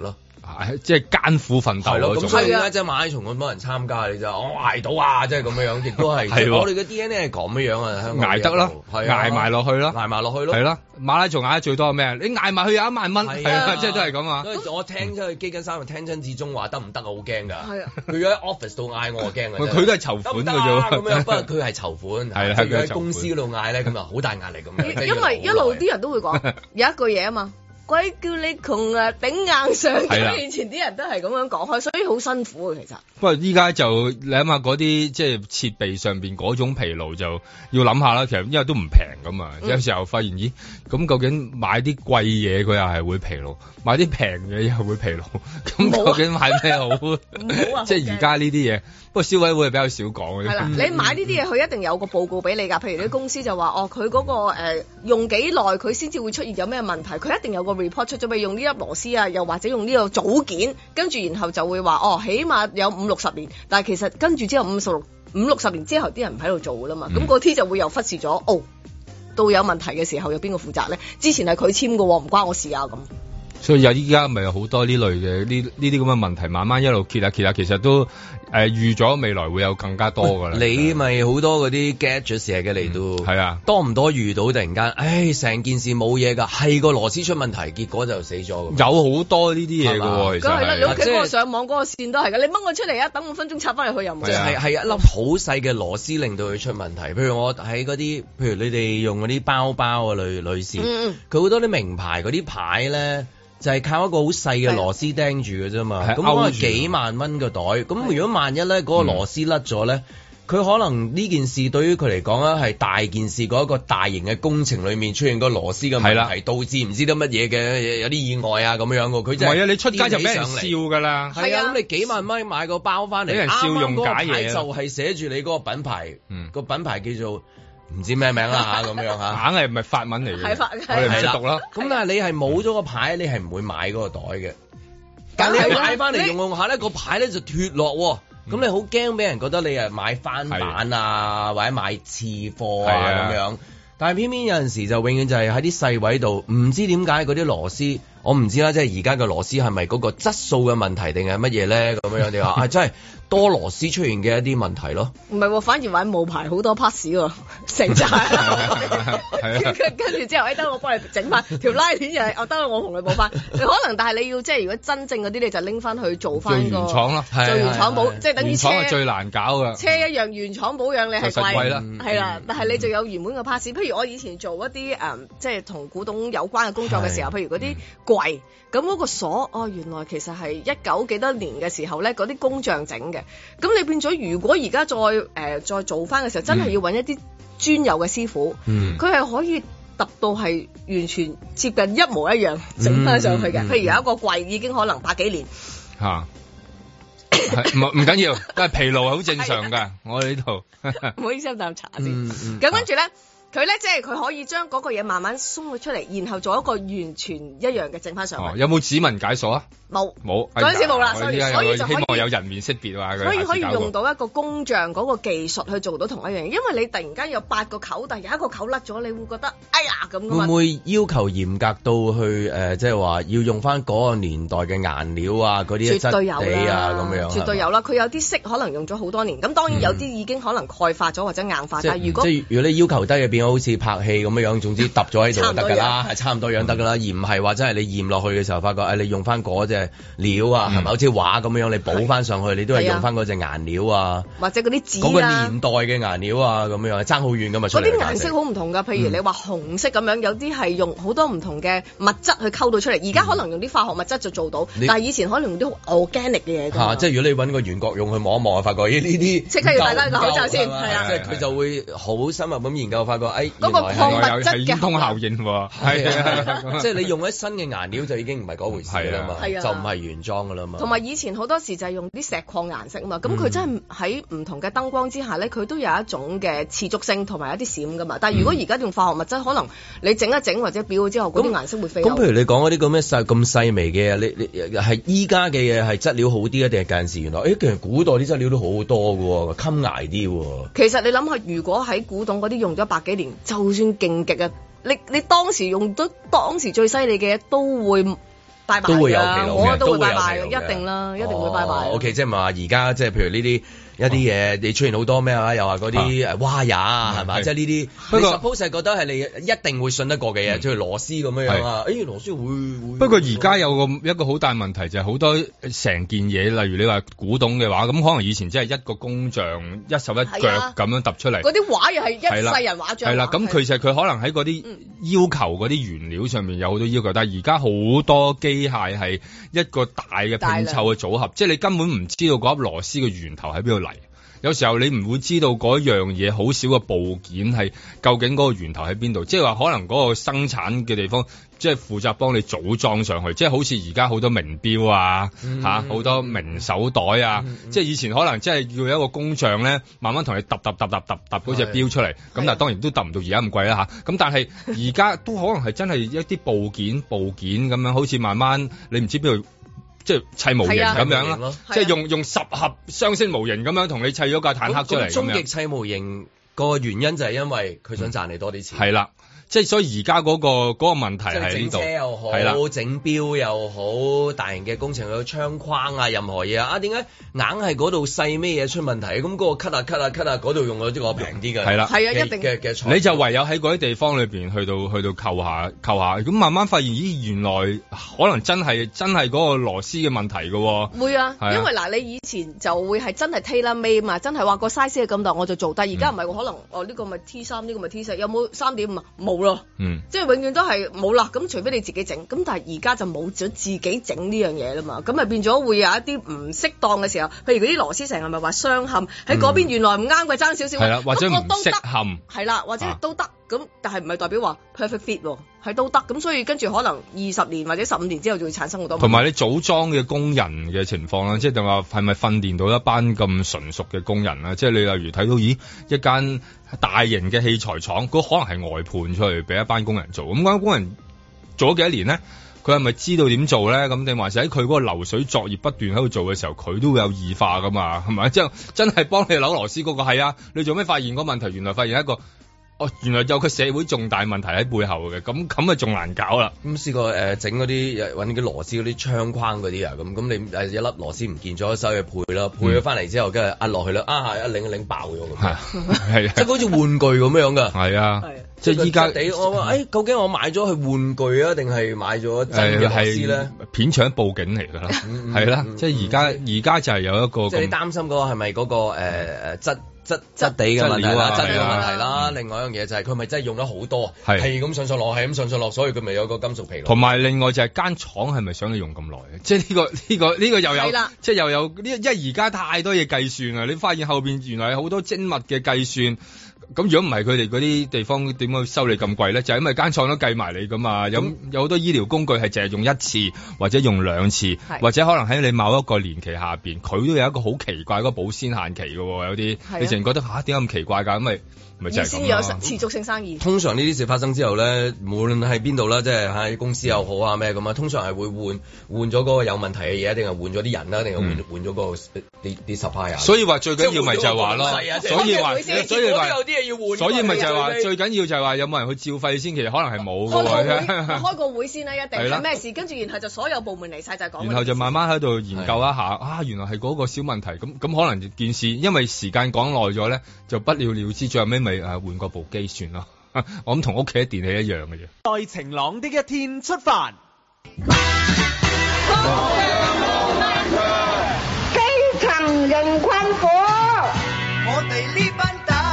即係艱苦奮鬥嗰種。 咁所以點解即係馬拉松咁多人參加？你就我捱到啊！即係咁樣樣，亦都係。係我哋嘅 D N A 係咁樣樣啊，香港捱得啦，捱埋落去啦，捱埋落去咯。係啦，馬拉松捱得最多係咩？你捱埋去有一萬蚊，係啊，即係都係咁啊。我聽出去基金三，聽親至中話得唔得啊？好驚㗎。係啊，佢喺 office 度嗌我，我驚㗎。佢都係籌款㗎啫。咁樣，不過佢係籌款。係係佢喺公司嗰度嗌咧，咁啊好大壓力咁樣。 因為一路啲人都會講有一句嘢啊嘛。鬼叫你窮啊，頂硬上！咁以前啲人都係咁樣講開，所以好辛苦啊，其實。 不過依家就你諗下嗰啲即係設備上邊嗰種疲勞就要諗下啦。其實因為都唔平噶嘛，嗯、有時候發現咦，咁究竟買啲貴嘢佢又係會疲勞，買啲平嘢又會疲勞。咁究竟買咩好？好啊！即係而家呢啲嘢，不過消委會係比較少講嘅。係啦， 你買呢啲嘢，佢一定有個報告俾你㗎。譬如啲公司就話哦，佢嗰、嗰個、呃、用幾耐，佢先至會出現有咩問題，佢一定有個 report 出咗，咪用呢粒螺絲啊，又或者用呢個組件，跟住然後就會話哦，起碼有五六十年，但係其實跟住之後五十六五六十年之後，啲人唔喺度做噶啦嘛，咁嗰啲就會又忽視咗哦，到有問題嘅時候有邊個負責咧？之前係佢簽嘅，唔關我事啊咁。 所以有依家咪有好多呢類嘅呢呢啲咁嘅問題，慢慢一路揭下揭下，其實都誒、呃、預咗未來會有更加多噶啦。 你咪好多嗰啲 gadget 成日嘅嚟到，係、嗯、啊，多唔多遇到突然間，唉，成件事冇嘢噶，係個螺絲出問題，結果就死咗。有好多呢啲嘢噶喎，其實係啦，你屋企嗰個上網嗰個線都係噶，你掹我出嚟啊，等五分鐘插翻入去又唔係。 係係一粒好細嘅螺絲令到佢出問題。譬如我喺嗰啲，譬如你哋用嗰啲包包啊，女女士，佢好多啲名牌嗰啲牌咧。就係靠一個好細嘅螺絲釘住嘅啫嘛，咁可能幾萬蚊個袋，咁如果萬一咧嗰個螺絲甩咗咧，佢、嗯、可能呢件事對於佢嚟講咧係大件事，嗰一個大型嘅工程裏面出現個螺絲嘅問題，導致唔知得乜嘢嘅有啲意外啊咁樣嘅，佢真係係啊！你出街就俾人笑噶啦， 係啊！咁你幾萬蚊買個包翻嚟，俾人笑用假嘢，就係寫住你嗰個品牌，嗯、個品牌叫做。唔知咩名啦嚇，咁樣嚇， 硬係唔係法文嚟嘅， 係法， 我哋唔識讀啦。 咁但係你係冇咗個牌，你係唔會買嗰個袋嘅。但係你買翻嚟用用下咧，個牌咧就脫落喎。咁你好驚俾人覺得你係買翻版啊，或者買次貨啊咁樣。但係偏偏有陣時就永遠就係喺啲細位度，唔知點解嗰啲螺絲，我唔知啦，即係而家嘅螺絲係咪嗰個質素嘅問題定係乜嘢咧？咁樣你話啊，真係多螺絲出現嘅一啲問題咯。唔係喎，反而玩冒牌好多 pass 喎，成扎。跟住之後，誒得我幫你整翻條拉鏈又係，哦得我同你補翻。你可能，但係你要即係如果真正嗰啲，你就拎翻去做翻個原廠咯， 做原廠保，即係等於車。 原廠係最難搞㗎。 車一樣原廠保養你係貴啦， 係啦，但係你就有原本嘅 pass。譬如我以前做一啲誒，即係同古董有關嘅工作嘅時候，譬如嗰啲櫃，咁嗰個鎖，哦原來其實係一九幾多年嘅時候咧，嗰啲工匠整嘅。咁你變咗，如果而家再誒、呃、再做翻嘅時候，真係要揾一啲專有嘅師傅，佢係、嗯、可以揼到係完全接近一模一樣整翻上去嘅。嗯嗯、譬如有一個櫃已經可能百幾年嚇，唔唔緊要，都係疲勞係好正常㗎。我哋呢度唔好意思，啖茶先。咁跟住咧。佢咧即係佢可以將嗰個嘢慢慢鬆咗出嚟，然後做一個完全一樣嘅整翻上去。 哦、有冇指紋解鎖啊？ 冇冇， 嗰陣時冇啦，所以所以就可以希望有人面識別啊。 所以可以用到一個工匠嗰個技術去做到同一樣嘢，因為你突然間有八個口，但係有一個口甩咗，你會覺得哎呀咁。會唔會要求嚴格到去誒，即係話要用翻嗰個年代嘅顏料啊，嗰啲質地啊咁樣？ 絕對有啦，佢有啲色可能用咗好多年，咁當然有啲已經可能鈣化咗或者硬化。但係如果即係如果你要求低嘅變咗好似拍戲咁樣樣，總之揼咗喺度就得㗎啦，係差唔多樣得㗎啦，而唔係話真係你驗落去嘅時候發覺誒，你用翻嗰隻料啊。係咪好似畫咁樣？你補翻上去，你都係用翻嗰隻顏料啊， 或者嗰啲紙啊， 嗰個年代嘅顏料啊，咁樣爭好遠㗎嘛。 嗰啲顏色好唔同㗎，譬如你話紅色咁樣，有啲係用好多唔同嘅物質去溝到出嚟。而家可能用啲化學物質就做到，但係以前可能用啲好 organic 嘅嘢。嚇，即係如果你揾個袁國勇去望一望，發覺咦呢啲即刻要戴翻個口罩先，係啊，即係佢就會好深入咁研究，發覺誒嗰個礦物質嘅通效應喎，係啊，即係你用咗新嘅顏料就已經唔係嗰回事啦嘛，就唔係原裝。 同埋以前好多時就係用啲石礦顏色啊嘛，咁佢、嗯、真係喺唔同嘅燈光之下咧，佢都有一種嘅持續性同埋一啲閃噶嘛。但係如果而家用化學物質，可能你整一整或者裱咗之後，嗰啲顏色會飛。咁譬如你講嗰啲咁咩細咁細微嘅嘢，你你係依家嘅嘢係質料好啲啊，定係近陣時原來？誒、欸，其實古代啲質料都好多㗎喎，襟捱啲喎。 其實你諗下，如果喺古董嗰啲用咗百幾年，就算勁極啊，你你當時用到當時最犀利嘅嘢都會。 拜拜都會有騎龍嘅， 都會拜拜，一定啦，一定會拜拜。 O K， 即係唔係話而家即係譬如呢啲。一啲嘢你出現好多咩啊？又話嗰啲誒蛙呀係嘛？即係呢啲。不過 suppose 係覺得係你一定會信得過嘅嘢，即係螺絲咁樣樣啊。誒螺絲會會。 不過而家有個一個好大問題就係好多成件嘢，例如你話古董嘅話，咁可能以前真係一個工匠一手一腳咁樣揼出嚟。 嗰啲畫又係一世人畫像。 係啦，咁其實佢可能喺嗰啲要求嗰啲原料上面有好多要求，但係而家好多機械係一個大嘅拼湊嘅組合，即係你根本唔知道嗰粒螺絲嘅源頭喺邊度嚟。有時候你唔會知道嗰樣嘢好少嘅部件係究竟嗰個源頭喺邊度，即係話可能嗰個生產嘅地方即係負責幫你組裝上去，即係好似而家好多名錶啊嚇，好多名手袋啊，即係以前可能即係要有一個工匠咧，慢慢同你揼揼揼揼揼揼嗰隻錶出嚟，咁但係當然都揼唔到而家咁貴啦嚇，咁但係而家都可能係真係一啲部件部件咁樣，好似慢慢你唔知邊度。即係砌模型咁樣啦，即係用用十盒雙星模型咁樣同你砌咗架坦克出嚟咁樣。 終極砌模型個原因就係因為佢想賺你多啲錢。係啦。 即係所以而家嗰個嗰、嗰個問題喺呢度， 整車又好， 係啦， 整錶又好，大型嘅工程有窗框啊，任何嘢啊，啊點解硬係嗰度細咩嘢出問題？咁嗰個 cut 啊 cut 啊 cut 啊，嗰度用咗啲個平啲嘅， 係啦， 係啊，一定嘅嘅， 你就唯有喺嗰啲地方裏邊去到去到扣下扣下，咁慢慢發現咦原來可能真係真係嗰個螺絲嘅問題嘅喎。 會啊，啊因為嗱你以前就會係真係 tailor made 嘛，真係話個 size 係咁大我就做，但係而家唔係喎，可能哦呢個咪 T 三，呢個咪 T 四，有冇三點五啊？冇咯， 嗯。 即係永遠都係冇啦，咁除非你自己整，咁但係而家就冇咗自己整呢樣嘢啦嘛，咁咪變咗會有一啲唔適當嘅時候，譬如嗰啲螺絲成日咪話雙嵌喺嗰邊，原來唔啱嘅爭少少， 係啦，或者唔適嵌， 係啦，或者都得，咁、啊、但係唔係代表話 perfect fit 喎，係都得，咁所以跟住可能二十年或者十五年之後就會產生好多。同埋你組裝嘅工人嘅情況啦，即係定話係咪訓練到一班咁純熟嘅工人啊？即係你例如睇到咦一間大型嘅器材廠，佢可能係外判出去俾一班工人做，咁嗰班工人做咗幾多年咧？佢係咪知道點做咧？咁定還是喺佢嗰個流水作業不斷喺度做嘅時候，佢都會有異化噶嘛？係咪？即係真係幫你扭螺絲嗰個係啊？你做咩發現個問題？原來發現一個。哦，原來有個社會重大問題喺背後嘅，咁咁啊仲難搞啦。 咁試過誒整嗰啲揾啲螺絲嗰啲窗框嗰啲啊，咁咁你誒一粒螺絲唔見咗，收去配啦，配咗翻嚟之後，跟住壓落去啦，啊一擰一擰爆咗咁。係係，即係好似玩具咁樣㗎。係啊，即係依家我話誒，究竟我買咗去玩具啊，定係買咗真嘅螺絲咧？ 片場報警嚟㗎啦，係啦，即係而家而家就係有一個。 即係你擔心嗰個係咪嗰個誒誒質？質質地嘅問題啦，質地嘅問題啦。另外一樣嘢就係佢咪真係用咗好多，係咁上上落，係咁上上落，所以佢咪有個金屬疲勞。 同埋另外就係間廠係咪想你用咁耐？即係呢個呢個呢個又有，即係又有呢，因為而家太多嘢計算啦。你發現後邊原來有好多精密嘅計算。咁如果唔係佢哋嗰啲地方點解收你咁貴咧？就係因為間廠都計埋你噶嘛。有有好多醫療工具係淨係用一次或者用兩次，或者可能喺你某一個年期下邊，佢都有一個好奇怪嗰個保鮮限期嘅喎。有啲你淨係覺得吓點解咁奇怪㗎？咁咪咪就係咁咯。先有持續性生意。 通常呢啲事發生之後咧，無論喺邊度啦，即係喺公司又好啊咩咁啊，通常係會換換咗嗰個有問題嘅嘢，定係換咗啲人啦，定係換換咗嗰個啲啲 supplier。 所以話最緊要咪就係話咯，所以話所以話。所以咪就係話最緊要就係話有冇人去照肺先，其實可能係冇嘅。 開個會先啦，一定係咩事？跟住然後就所有部門嚟晒就係講。 然後就慢慢喺度研究一下，啊，原來係嗰個小問題。咁咁可能件事，因為時間講耐咗咧，就不了了之。最後尾咪誒換個部機算咯。我諗同屋企嘅電器一樣嘅啫。 在晴朗的一天出發。 基層人困苦， 我哋呢班。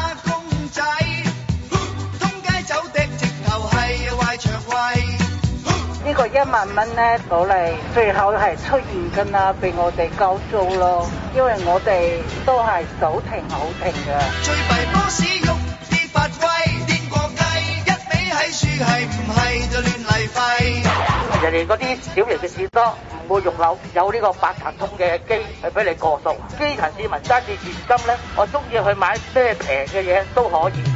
呢個一萬蚊咧到嚟，最後係出現㗎啦，俾我哋交租咯，因為我哋都係手停口停嘅。最弊波士喐啲發威，癲過雞，一味喺樹係唔係就亂嚟廢。人哋嗰啲小型嘅士多唔會用樓，有呢個八達通嘅機去俾你過數。基層市民揸住現金咧，我中意去買咩平嘅嘢都可以。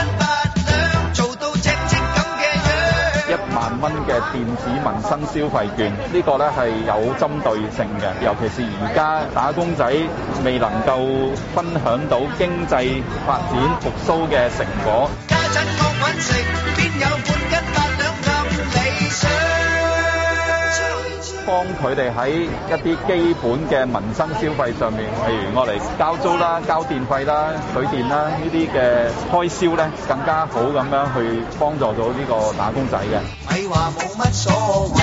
一萬蚊嘅電子民生消費券，呢個咧係有針對性嘅，尤其是而家打工仔未能夠分享到經濟發展復甦嘅成果。家陣我揾食，邊有半斤八兩咁理想？ 幫佢哋喺一啲基本嘅民生消費上面，例如我哋交租啦、交電費啦、水電啦呢啲嘅開銷咧，更加好咁樣去幫助到呢個打工仔嘅。咪話冇乜所謂。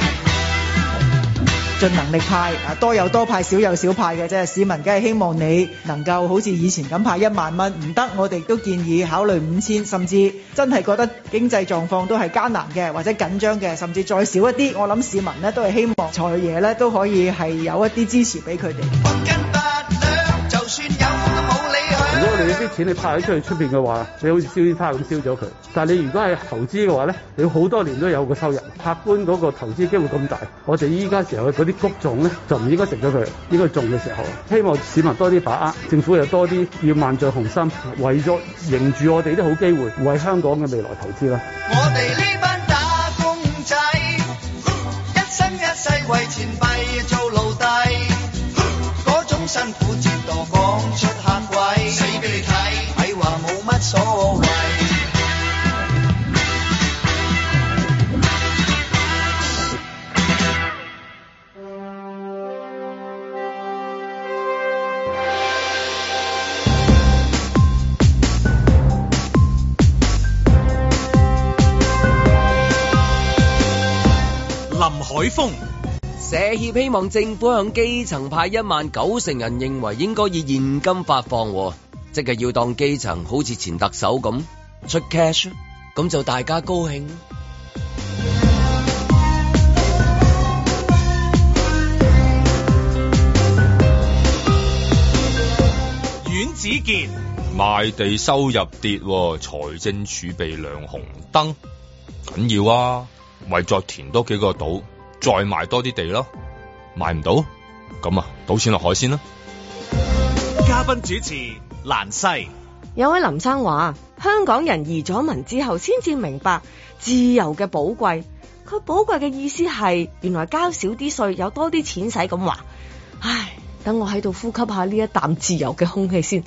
盡能力派啊，多有多派，少有少派嘅啫。市民梗係希望你能夠好似以前咁派一萬蚊，唔得我哋都建議考慮五千，甚至真係覺得經濟狀況都係艱難嘅或者緊張嘅，甚至再少一啲，我諗市民呢都係希望財爺呢都可以係有一啲支持俾佢哋。 如果你啲錢你派咗出去出邊嘅話，你好似燒煙花咁燒咗佢。但係你如果係投資嘅話咧，你好多年都有個收入。客觀嗰個投資機會咁大，我哋依家時候嗰啲谷種咧就唔應該食咗佢，應該種嘅時候。希望市民多啲把握，政府又多啲要萬丈雄心，為咗迎住我哋啲好機會，為香港嘅未來投資啦。 我哋呢班打工仔，一生一世為錢幣做奴隸，嗰種辛苦折墮講出客位，死俾你睇，咪話冇乜所謂。 林海峰， 社協希望政府向基層派一萬，九成人認為應該以現金發放，即係要當基層好似前特首咁出 cash， 咁就大家高興。 阮子健， 賣地收入跌，財政儲備亮紅燈，緊要啊！咪再填多幾個島，再賣多啲地咯，賣唔到，咁啊，賭錢落海先啦。 嘉賓主持蘭西， 有位林生話，香港人移咗民之後，先至明白自由嘅寶貴。佢寶貴嘅意思係，原來交少啲稅，有多啲錢使咁話。唉，等我喺度呼吸下呢一啖自由嘅空氣先。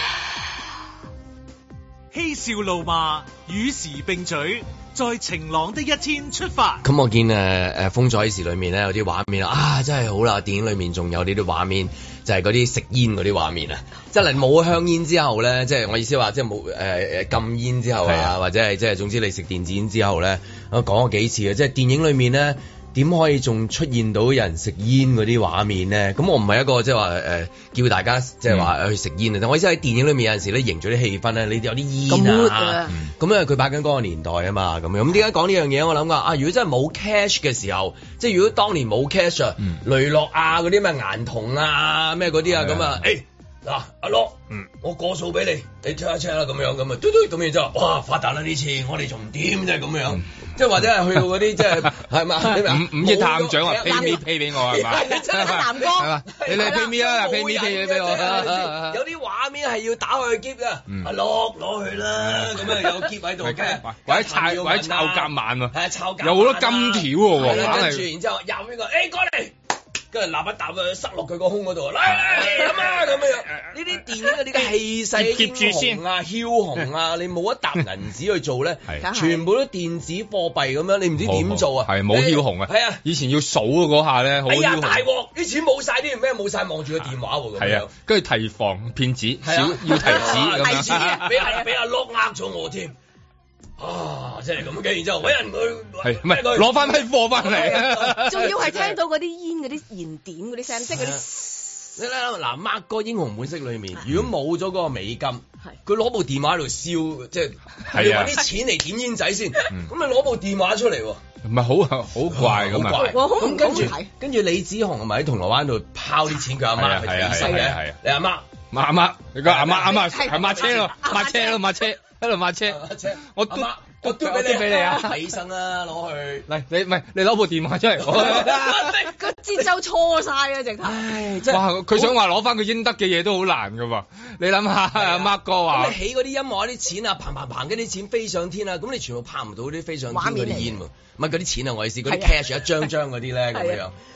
嬉笑怒罵，與時並舉。在晴朗的一天出發。 咁我見誒誒風采時裏面咧有啲畫面啊，真係好啦！電影裏面仲有呢啲畫面，就係嗰啲食煙嗰啲畫面啊，即係冇香煙之後咧，即係我意思話，即係冇誒誒禁煙之後啊，或者係即係總之你食電子煙之後咧，我講過幾次嘅，即係電影裏面咧。點可以仲出現到有人食煙嗰啲畫面咧？咁我唔係一個即係話誒叫大家即係話去食煙啊！但我意思喺電影裏面有陣時咧營造啲氣氛咧，你有啲煙啊，咁因為佢擺緊嗰個年代啊嘛，咁樣咁點解講呢樣嘢？我諗噶啊，如果真係冇 cash 嘅時候，即係如果當年冇 cash 啊，嗯、雷諾啊嗰啲咩顏銅啊咩嗰啲啊咁啊，誒嗱阿樂，嗯，我過數俾你，你 check 一 check 啦咁樣咁啊，嘟嘟咁然之後，哇發達啦呢次，我哋仲唔掂啫咁樣。嗯即係或者係去到嗰啲即係係嘛？ 五五億探長話 pay me pay 俾我係嘛？ 真係南哥， 你嚟 pay me 啦，pay me pay 俾我。 有啲畫面係要打開篋㗎，阿樂攞去啦，咁啊有篋喺度嘅， 或者抄或者抄夾萬喎， 係啊抄夾， 有好多金條喎， 跟住然之後入邊個，誒過嚟。跟住立一啖啊，塞落佢個胸嗰度，嚟嚟咁啊咁樣。呢啲電影嘅呢個氣勢英雄啊、梟雄啊，你冇一沓銀紙去做咧，全部都電子貨幣咁樣，你唔知點做啊？ 係冇梟雄啊！係啊，以前要數嗰下咧，好梟雄。哎呀大鑊！啲錢冇晒，啲咩冇晒，望住個電話喎咁樣。 跟住提防騙子，少要提子咁樣。 提子俾阿俾阿碌呃咗我添。啊，即係咁嘅，然之後揾人去， 係唔係攞翻批貨翻嚟？ 仲要係聽到嗰啲煙嗰啲燃點嗰啲聲，即係嗰啲。 你睇嗱，Mark 哥英雄本色裏面，如果冇咗嗰個美金，佢攞部電話喺度燒，即係你揾啲錢嚟點煙仔先，咁你攞部電話出嚟喎， 唔係好好怪咁啊？ 咁跟住跟住李子雄係咪喺銅鑼灣度拋啲錢佢阿媽係死嘅？你阿媽， 阿媽，你個阿媽阿媽係抹車咯，抹車咯，抹車。喺度抹車，我都我都俾啲俾你啊！ 起身啦，攞去嚟你唔係你攞部電話出嚟， 個節奏錯晒啊！直頭， 唉，真係哇！佢想話攞翻佢應得嘅嘢都好難噶喎，你諗下阿 Mark 哥話， 咁你起嗰啲音樂啲錢啊，嘭嘭嘭嗰啲錢飛上天啊，咁你全部拍唔到啲飛上天嗰啲煙喎，唔係嗰啲錢啊，我意思嗰啲 cash 一張張嗰啲咧咁樣。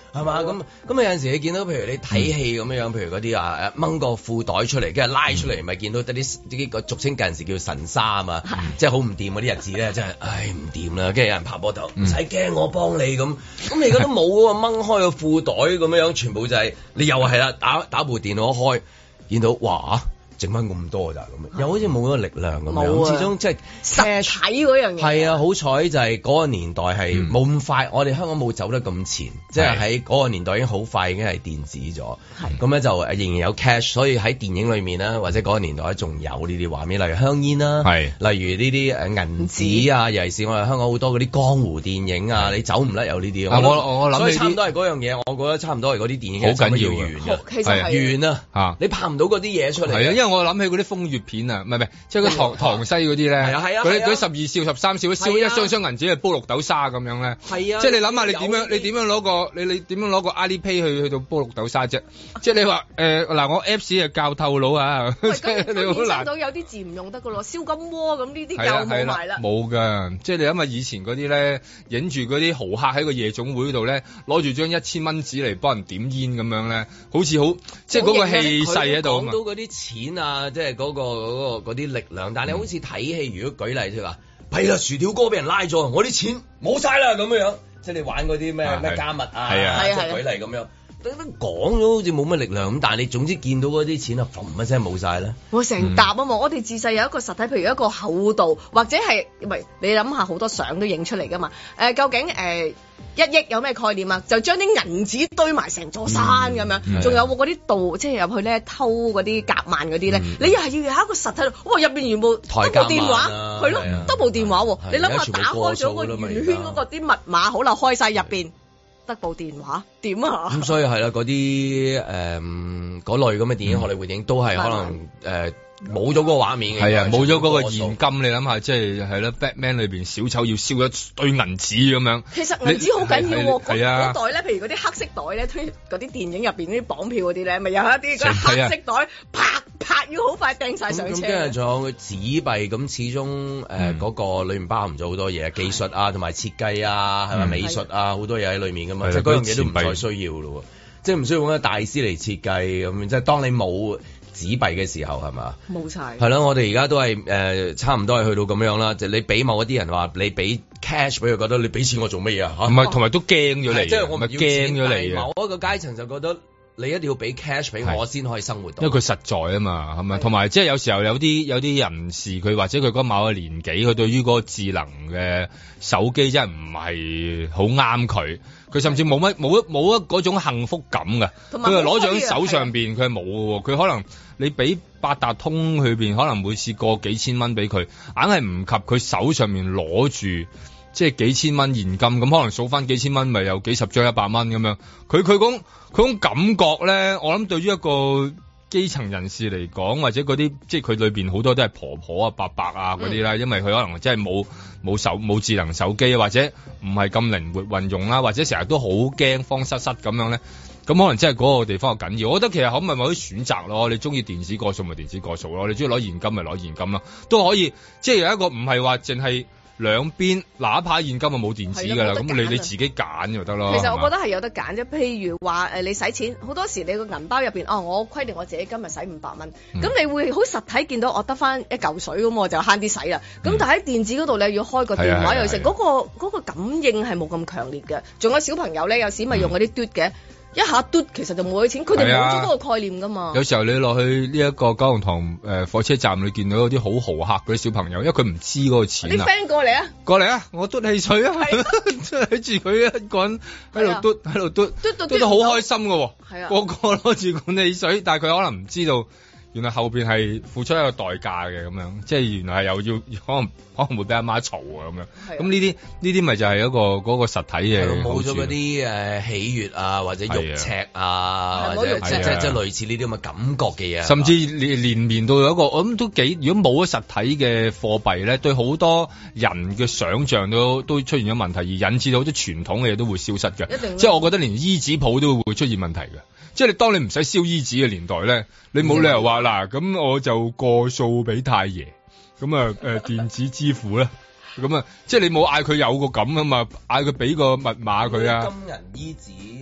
係嘛？咁咁有陣時你見到譬如你睇戲咁樣樣，譬如嗰啲啊掹個褲袋出嚟，跟住拉出嚟，咪見到得啲啲個俗稱近時叫神沙啊嘛，即係好唔掂嗰啲日子咧，真係唉唔掂啦，跟住有人拍膊頭，唔使驚我幫你咁，咁你而家都冇喎，掹開個褲袋咁樣樣，全部就係你又係啦，打打部電腦開，見到哇！剩翻咁多咋咁，又好似冇嗰個力量咁樣。始終即係實體嗰樣嘢。係啊，好彩就係嗰個年代係冇咁快，我哋香港冇走得咁前，即係喺嗰個年代已經好快已經係電子咗。咁咧就仍然有 cash，所以喺電影裏面啦，或者嗰個年代仲有呢啲畫面，例如香煙啦，例如呢啲誒銀紙啊，尤其是我哋香港好多嗰啲江湖電影啊，你走唔甩有呢啲。我我諗所以差唔多係嗰樣嘢，我覺得差唔多係嗰啲電影好緊要嘅。 其實係完啊，你拍唔到嗰啲嘢出嚟。 係啊，因為我諗起嗰啲風月片啊，唔係唔係，即係嗰唐唐西嗰啲咧， 係啊係啊， 嗰啲嗰啲十二少十三少，燒一箱箱銀紙去煲綠豆沙咁樣咧， 係啊， 即係你諗下你點樣你點樣攞個你你點樣攞個 Alipay 去去到煲綠豆沙啫？即係你話誒嗱，我 Apps 係教透佬啊，即係你好難。 到有啲字唔用得噶咯，燒金鍋咁呢啲又冇埋啦。 冇噶，即係你諗下以前嗰啲咧，影住嗰啲豪客喺個夜總會度咧，攞住張一千蚊紙嚟幫人點煙咁樣咧，好似好即係嗰個氣勢喺度。 講到嗰啲錢啊，即係嗰個嗰個嗰啲力量，但係你好似睇戲，如果舉例即係話，係啦，薯條哥俾人拉咗，我啲錢冇晒啦咁樣樣，即係你玩嗰啲咩咩加密啊， 係啊， 即係舉例咁樣。都講咗好似冇乜力量咁，但係你總之見到嗰啲錢啊，嘭一聲冇晒咧。 我成沓啊嘛！我哋自細有一個實體，譬如一個厚度，或者係唔係？你諗下好多相都影出嚟噶嘛？誒、呃，究竟誒、呃、一億有咩概念啊？就將啲銀紙堆埋成座山咁樣，仲、嗯、有嗰啲盜，即係入去咧偷嗰啲夾萬嗰啲咧，嗯、你又係要有一個實體，哇！入邊全部得部電話，係咯，得部電話喎。你諗下打開咗個圓圈嗰個啲密碼，好啦，開晒入邊。得部電話點啊？咁所以係啦，嗰啲誒嗰類咁嘅電影，荷里活電影都係可能誒冇咗嗰個畫面嘅。 係啊，冇咗嗰個現金，你諗下，即係係咯 Batman 裏邊小丑要燒一堆銀紙咁樣。 其實銀紙好緊要喎，嗰袋咧，譬如嗰啲黑色袋咧，推嗰啲電影入邊啲綁票嗰啲咧，咪有一啲嗰黑色袋，啪啪要好快掟晒上車。咁跟住仲有紙幣，咁始終誒嗰個裏面包含咗好多嘢，技術啊，同埋設計啊，係咪美術啊，好多嘢喺裏面噶嘛，即係嗰樣嘢都唔再需要咯，即係唔需要揾個大師嚟設計咁，即係當你冇紙幣嘅時候係嘛？ 冇晒。 係咯，我哋而家都係誒、呃、差唔多係去到咁樣啦。就你俾某一啲人話你俾 cash 俾佢，覺得你俾錢我做乜嘢啊？ 唔係，同埋都驚咗你， 即係我唔係驚咗你。 某一個階層就覺得你一定要俾 cash 俾我先可以生活到， 因為佢實在啊嘛，係咪？同埋即係有時候有啲有啲人士佢或者佢嗰某個年紀，佢對於嗰個智能嘅手機真係唔係好啱佢。佢甚至冇乜冇一冇一嗰種幸福感㗎，佢係攞咗喺手上邊，佢係冇嘅喎。佢可能你俾八達通去邊，可能每次過幾千蚊俾佢，硬係唔及佢手上面攞住即係幾千蚊現金咁，可能數翻幾千蚊，咪有幾十張一百蚊咁樣。佢佢講佢種感覺咧，我諗對於一個基層人士嚟講，或者嗰啲即係佢裏邊好多都係婆婆啊、伯伯啊嗰啲啦，因為佢可能真係冇冇手冇智能手機，或者唔係咁靈活運用啦，或者成日都好驚慌失失咁樣咧，咁可能真係嗰個地方係緊要。我覺得其實可唔可以某啲選擇咯？你中意電子過數咪電子過數咯，你中意攞現金咪攞現金咯，都可以。即係有一個唔係話淨係兩邊，哪怕現金就冇電子㗎啦，咁你你自己揀就得咯。 其實我覺得係有得揀啫。譬如話誒，你使錢好多時，你個銀包入邊哦，我規定我自己今日使五百蚊，咁、嗯、你會好實體見到我得翻一嚿水咁，我就慳啲使啦。咁、嗯、但喺電子嗰度你要開個電話又成，嗰、嗰個嗰個感應係冇咁強烈嘅。仲有小朋友咧，有時咪用嗰啲嘟嘅。嗯一下嘟，其實就冇咗錢，佢哋冇咗嗰個概念噶嘛。 有時候你落去呢一個九龍塘誒火車站，你見到有啲好豪客嗰啲小朋友，因為佢唔知嗰個錢啊。 啲 friend 過嚟啊， 過嚟啊，我嘟汽水啊，睇住佢一個人喺度嘟，喺度嘟，嘟嘟到好開心噶喎。係啊，個個攞住罐汽水，但係佢可能唔知道。原來後邊係付出一個代價嘅咁樣，即係原來係又要可能可能會俾阿媽嘈啊咁樣。咁呢啲呢啲咪就係一個嗰、嗰個實體嘅冇咗嗰啲誒喜悅啊，或者肉赤啊，或者即係即係類似呢啲咁嘅感覺嘅嘢。 甚至連連綿到有一個，我諗都幾。如果冇咗實體嘅貨幣咧，對好多人嘅想像都都出現咗問題，而引致到好多傳統嘅嘢都會消失嘅。即係我覺得連衣紙鋪都會出現問題嘅。即係你當你唔使燒衣紙嘅年代咧，你冇理由話嗱，咁我就過數俾太爺，咁啊誒電子支付咧，咁啊即係你冇嗌佢有個咁啊嘛，嗌佢俾個密碼佢啊。 金銀衣紙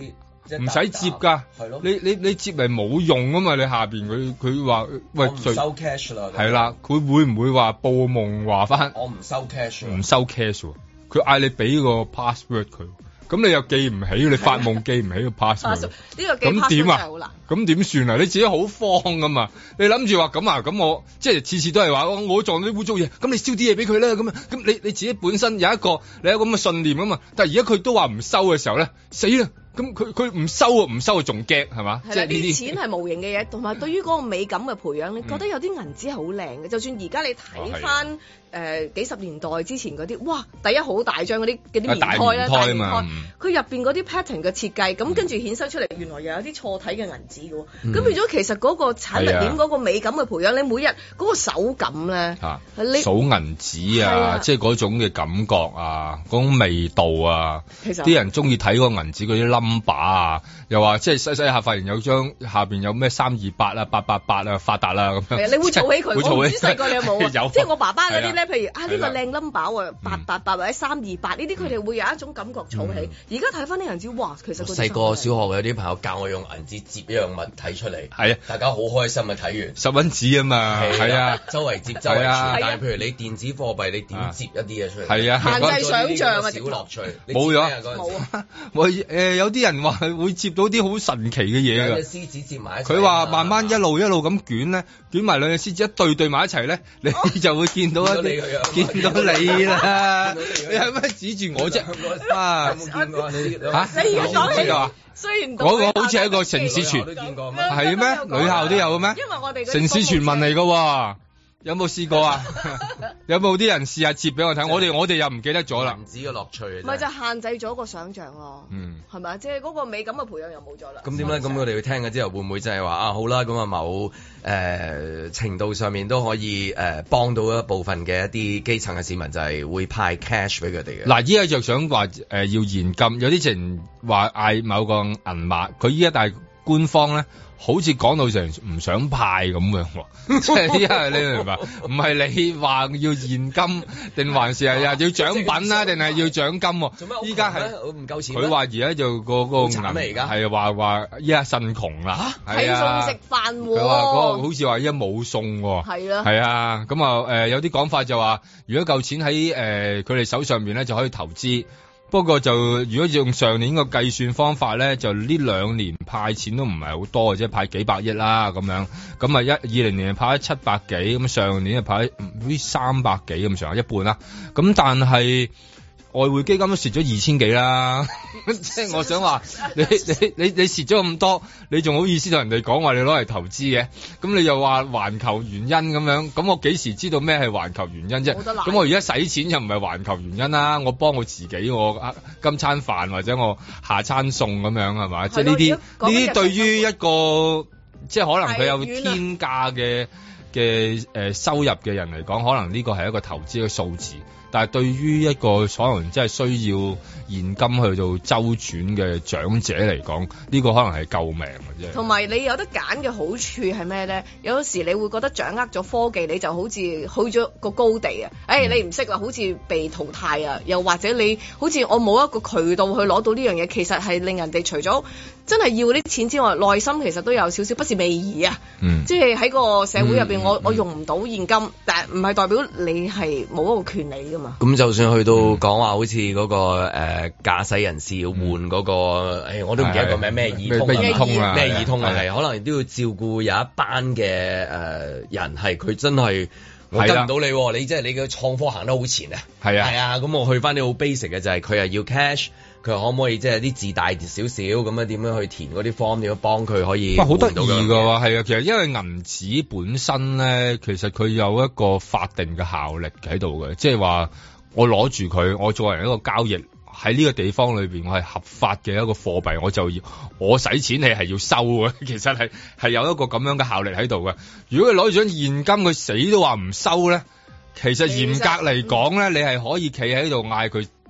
唔使接㗎。係咯，你你你接嚟冇用啊嘛！你下邊佢佢話喂， 我唔收 cash 啦。 係啦，佢會唔會話報夢話翻？ 我唔收 cash。 唔收 cash 喎，佢嗌你俾個 password 佢。咁你又記唔起，你發夢記唔起個 password，呢個咁點啊？ 咁點算啊？你自己好慌噶嘛？你諗住話咁啊？咁我即係次次都係話我撞到啲污糟嘢，咁你燒啲嘢俾佢啦。咁啊，咁你你自己本身有一個你有咁嘅信念啊嘛。但係而家佢都話唔收嘅時候咧，死啦！咁佢佢唔收啊，唔收啊，仲驚係嘛？ 即係呢啲錢係無形嘅嘢，同埋對於嗰個美感嘅培養，你覺得有啲銀紙係好靚嘅。就算而家你睇翻誒幾十年代之前嗰啲，哇！第一好大張嗰啲嗰啲棉胎啦，大棉胎，佢入邊嗰啲 pattern 嘅設計，咁跟住衍生出嚟，原來又有啲錯體嘅銀紙嘅喎。咁變咗其實嗰個產物鏈嗰個美感嘅培養，你每日嗰個手感咧，你數銀紙啊，即係嗰種嘅感覺啊，嗰種味道啊，其實啲人中意睇嗰個銀紙嗰啲冧把啊，又話即係細細下發現有張下邊有咩三二八啊、八八八啊、發達啦咁樣。係啊， 你會儲起佢。我唔知細個你有冇啊？ 有。 即係我爸爸嗰啲咧，譬如啊呢個靚 number 喎，八八八或者三二八呢啲，佢哋會有一種感覺儲起。而家睇翻啲銀紙，哇，其實細個小學有啲朋友教我用銀紙摺一樣物體出嚟， 係啊， 大家好開心啊！睇完十蚊紙啊嘛，係啊， 周圍摺周圍傳。但係譬如你電子貨幣，你點摺一啲嘢出嚟？ 係啊， 限制想像啊， 小樂趣。 冇咗， 冇啊！ 我誒有啲人話會接到啲好神奇嘅嘢㗎， 獅子接埋一齊。 佢話慢慢一路一路咁捲咧，捲埋兩隻獅子一對對埋一齊咧，你就會見到一啲，見到你啦。你係咩指住我啫？啊，有冇見過你嚇？ 你而家講起啊， 雖然嗰個好似係一個城市傳，係咩？女校都有嘅咩？ 因為我哋城市傳聞嚟㗎喎。有冇試過啊？有冇啲人試下接俾我睇？我哋我哋又唔記得咗啦。 銀紙嘅樂趣， 唔係就限制咗個想像咯。嗯，係咪？即係嗰個美感嘅培養又冇咗啦。 咁點咧？咁我哋去聽嘅之後，會唔會就係話啊好啦？咁啊某誒、呃、程度上面都可以誒、呃、幫到一部分嘅一啲基層嘅市民，就係會派 cash 俾佢哋嘅。 嗱，依家就想話誒、呃、要現金，有啲人話嗌某個銀碼，佢依家但係官方咧。好似講到成唔想派咁樣，即係因為你明白，唔係你話要現金，定還是係要獎品啊，定係要獎金？做咩？依家係唔夠錢。 佢話而家就個個銀係話話依家腎窮啦，係啊， 食飯喎。 佢話嗰個好似話依家冇餸喎，係啊，係啊，咁啊誒有啲講法就話，如果夠錢喺誒佢哋手上邊咧，就可以投資。不過就如果用上年個計算方法咧，就呢兩年派錢都唔係好多嘅啫，派幾百億啦咁樣。咁啊一二零年派咗七百幾，咁上年就派唔知三百幾咁上下，一半啦。咁但係外匯基金都蝕咗二千幾啦。即係我想話，你你你你蝕咗咁多，你仲好意思同人哋講話你攞嚟投資嘅？咁你又話環球原因咁樣，咁我幾時知道咩係環球原因啫？咁我而家使錢又唔係環球原因啦，我幫我自己，我今餐飯或者我下餐餸咁樣係嘛？即係呢啲呢啲對於一個即係可能佢有天價嘅嘅誒收入嘅人嚟講，可能呢個係一個投資嘅數字。但係對於一個可能真係需要現金去到周轉嘅長者嚟講，呢、這個可能係救命嘅啫。 同埋你有得揀嘅好處係咩咧？有時你會覺得掌握咗科技，你就好似去咗個高地啊！誒、哎，你唔識啦，好似被淘汰啊！又或者你好似我冇一個渠道去攞到呢樣嘢，其實係令人哋除咗真係要啲錢之外，內心其實都有少少不是味兒啊！嗯、即係喺個社會入邊，我、嗯嗯、我用唔到現金，但係唔係代表你係冇一個權利㗎嘛？ 咁就算去到講話好似嗰、那個誒駕駛人士要換嗰、那個，誒、嗯哎、我都唔記得個名咩易通啊，咩易通啊，咩易通啊，係可能都要照顧有一班嘅誒、呃、人，係佢真係我跟唔到你，你即係你嘅創科行得好前啊，係啊，係啊，咁我去翻啲好 basic 嘅就係佢係要 cash，佢可唔可以即係啲字大少少咁樣點樣去填嗰啲 form， 點樣幫佢可以？哇，好得意㗎喎，係啊，其實因為銀紙本身咧，其實佢有一個法定嘅效力喺度嘅，即係話。我攞住佢，我作為一個交易喺呢個地方裏邊，我係合法嘅一個貨幣，我就要我使錢你係要收嘅，其實係係有一個咁樣嘅效力喺度嘅。如果佢攞住張現金，佢死都話唔收咧，其實嚴格嚟講咧，你係可以企喺度嗌佢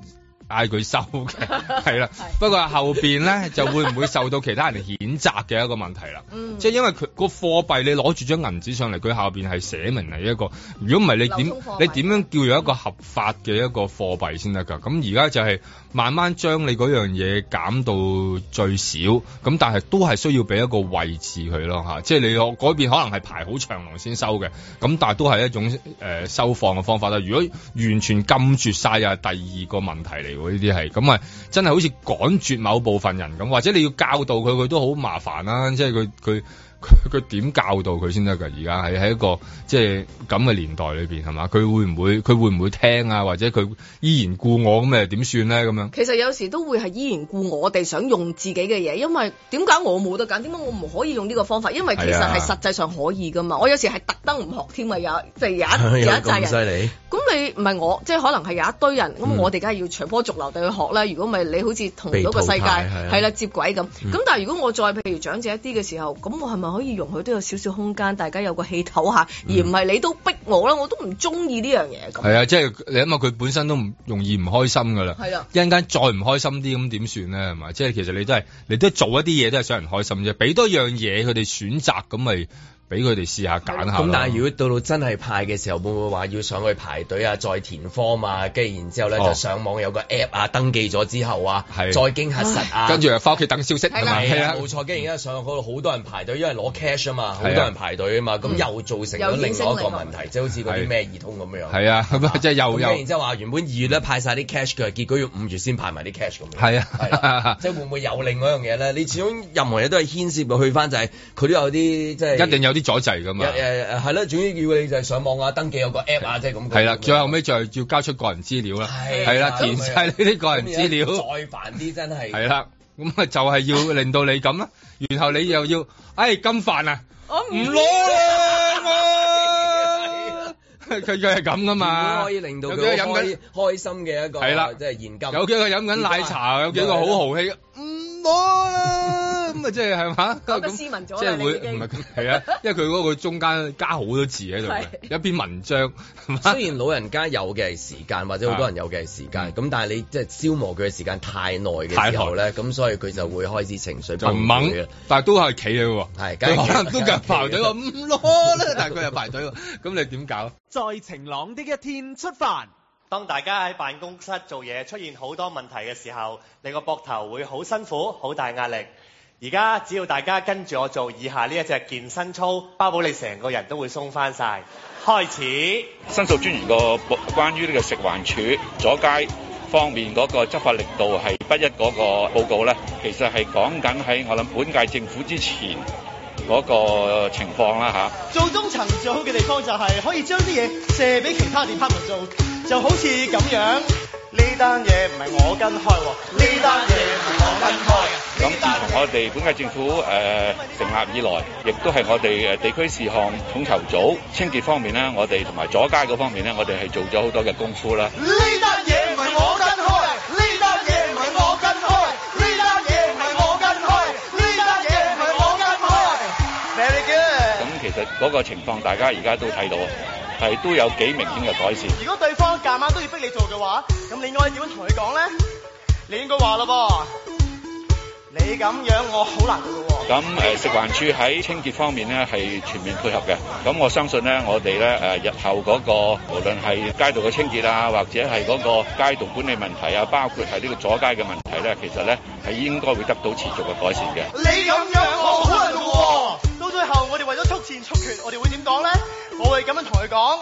嗌佢收嘅，係啦。不過後邊咧就會唔會受到其他人譴責嘅一個問題啦。嗯、即係因為佢個貨幣你攞住張銀紙上嚟，佢下邊係寫明係一個，如果唔係你點你點樣叫做一個合法嘅一個貨幣先得㗎？咁而家就係慢慢將你嗰樣嘢減到最少，咁但係都係需要俾一個位置佢咯嚇。即係你嗰邊可能係排好長龍先收嘅，咁但係都係一種誒、呃、收放嘅方法啦。如果完全禁絕晒，又係第二個問題嚟喎。呢啲係咁啊，真係好似趕絕某部分人咁，或者你要教導佢，佢都好麻煩啦。即係佢佢。佢佢點教導佢先得㗎？而家係喺一個即係咁嘅年代裏邊係嘛？佢會唔會佢會唔會聽啊？或者佢依然故我咁誒點算咧？咁樣其實有時都會係依然故我哋想用自己嘅嘢，因為點解我冇得揀？點解我唔可以用呢個方法？因為其實係實際上可以㗎嘛。我有時係特登唔學添啊，有即係有一有一紮人。咁犀利？咁你唔係我，即係可能係有一堆人，咁、嗯、我哋梗係要隨波逐流地去學啦。如果唔係你好似同到個世界係啦接軌咁。咁、嗯、但係如果我再譬如長者一啲嘅時候，咁我係咪可以容許都有少少空間，大家有個氣唞下，而唔係你都逼我啦，我都唔中意呢樣嘢。係啊，即係你諗下佢本身都唔容易唔開心噶啦。係啊，一陣間再唔開心啲咁點算咧？係嘛，即係其實你都係你都做一啲嘢都係想人開心啫，俾多樣嘢佢哋選擇咁咪。俾佢哋試下揀下。 咁但係如果到到真係派嘅時候，會唔會話要上去排隊啊，再填 form 啊，跟住然之後咧、哦、就上網有個 app 啊，登記咗之後啊，再經核實啊， 跟住又翻屋企等消息係咪？ 係啊，冇錯。跟住而家上去嗰度好多人排隊，因為攞 cash 啊嘛，好多人排隊啊嘛，咁、嗯、又造成咗另外一個問題，即係好似嗰啲咩易通咁樣。係啊，咁即係又又。然之後話原本二月咧派晒啲 cash 嘅，結果要五月先派埋啲 cash 咁樣。係啊，係啊，即係會唔會有另外一樣嘢咧？你始終任何嘢都係牽涉到去翻，就係佢都有啲即係一定有啲阻滯㗎嘛。 誒誒係啦，總之要你就係上網啊，登記有個 app 啊，即係咁。 係啦，最後尾就係要交出個人資料啦。係啦，填晒呢啲個人資料。 再煩啲真係。係啦，咁啊就係要令到你咁啦，然後你又要，哎金飯啊，我唔攞啦我。佢佢係咁噶嘛， 可以令到佢飲緊開心嘅一個係啦，即係現金。 有幾個飲緊奶茶，有幾個好豪氣，唔攞啦。咁啊，即係係嘛？ 講得斯文咗啦， 即係會唔係係啊？因為佢嗰個中間加好多字喺度嘅，一篇文章。 雖然老人家有嘅係時間，或者好多人有嘅係時間，咁但係你即係消磨佢嘅時間太耐嘅時候咧，咁所以佢就會開始情緒崩潰。 但係都係企嘅喎， 係可能都夾排隊話唔攞啦，但係佢又排隊喎，咁你點搞？ 在晴朗的一天出發。 當大家喺辦公室做嘢出現好多問題嘅時候，你個膊頭會好辛苦，好大壓力。而家只要大家跟住我做以下呢一隻健身操，包保你成個人都會鬆翻晒。開始。 申訴專員個關於呢個食環署阻街方面嗰個執法力度係不一嗰個報告咧，其實係講緊喺我諗本屆政府之前嗰個情況啦嚇。 做中層最好嘅地方就係可以將啲嘢卸俾其他 department 做，就好似咁樣。呢單嘢唔係我跟開喎，呢單嘢唔係我跟開。 咁自從我哋本屆政府誒、呃、成立以來，亦都係我哋誒地區事項統籌組清潔方面咧，我哋同埋阻街嗰方面咧，我哋係做咗好多嘅功夫啦。 呢單嘢唔係我跟開，呢單嘢唔係我跟開，呢單嘢唔係我跟開，呢單嘢唔係我跟開。Very good。 咁其實嗰個情況，大家而家都睇到，係都有幾明顯嘅改善。 如果對方夾硬都要逼你做嘅話，咁你應該點樣同佢講咧？你應該話咯噃。你咁樣我好難做嘅喎。 咁誒食環署喺清潔方面咧係全面配合嘅。咁我相信咧，我哋咧誒日後嗰個無論係街道嘅清潔啊，或者係嗰個街道管理問題啊，包括係呢個阻街嘅問題咧，其實咧係應該會得到持續嘅改善嘅。 你咁樣我好難做喎。到最後我哋為咗速戰速決，我哋會點講咧？我會咁樣同佢講。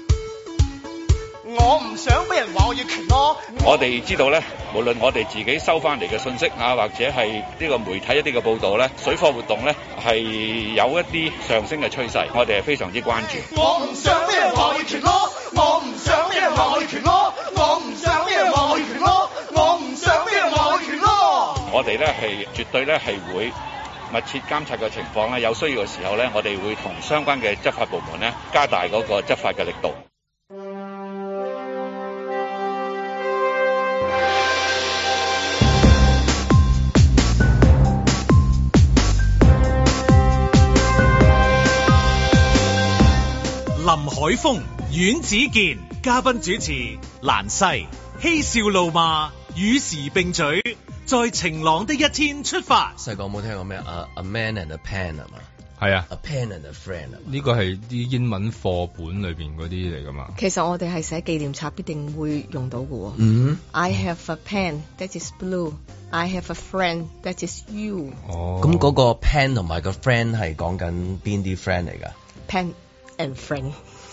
我唔想俾人話我要權咯。 我哋知道咧，無論我哋自己收翻嚟嘅信息啊，或者係呢個媒體一啲嘅報導咧，水貨活動咧係有一啲上升嘅趨勢，我哋係非常之關注。 我唔想俾人話我要權咯，我唔想俾人話我要權咯，我唔想俾人話我要權咯，我唔想俾人話我要權咯。 我哋咧係絕對咧係會密切監察嘅情況咧，有需要嘅時候咧，我哋會同相關嘅執法部門咧加大嗰個執法嘅力度。 林海峰、阮子健嘉賓主持，蘭西嬉笑怒罵與時並舉，在晴朗的一天出發。 細個有冇聽過咩啊 A man and a pen 係嘛？ 係啊 ，A pen and a friend 啊， 呢個係啲英文課本裏邊嗰啲嚟噶嘛。 其實我哋係寫紀念冊必定會用到嘅喎。 嗯 I have a pen that is blue. I have a friend that is you。 哦，咁嗰個 pen 同埋個 friend 係講緊邊啲 friend 嚟㗎 ？Pen and friend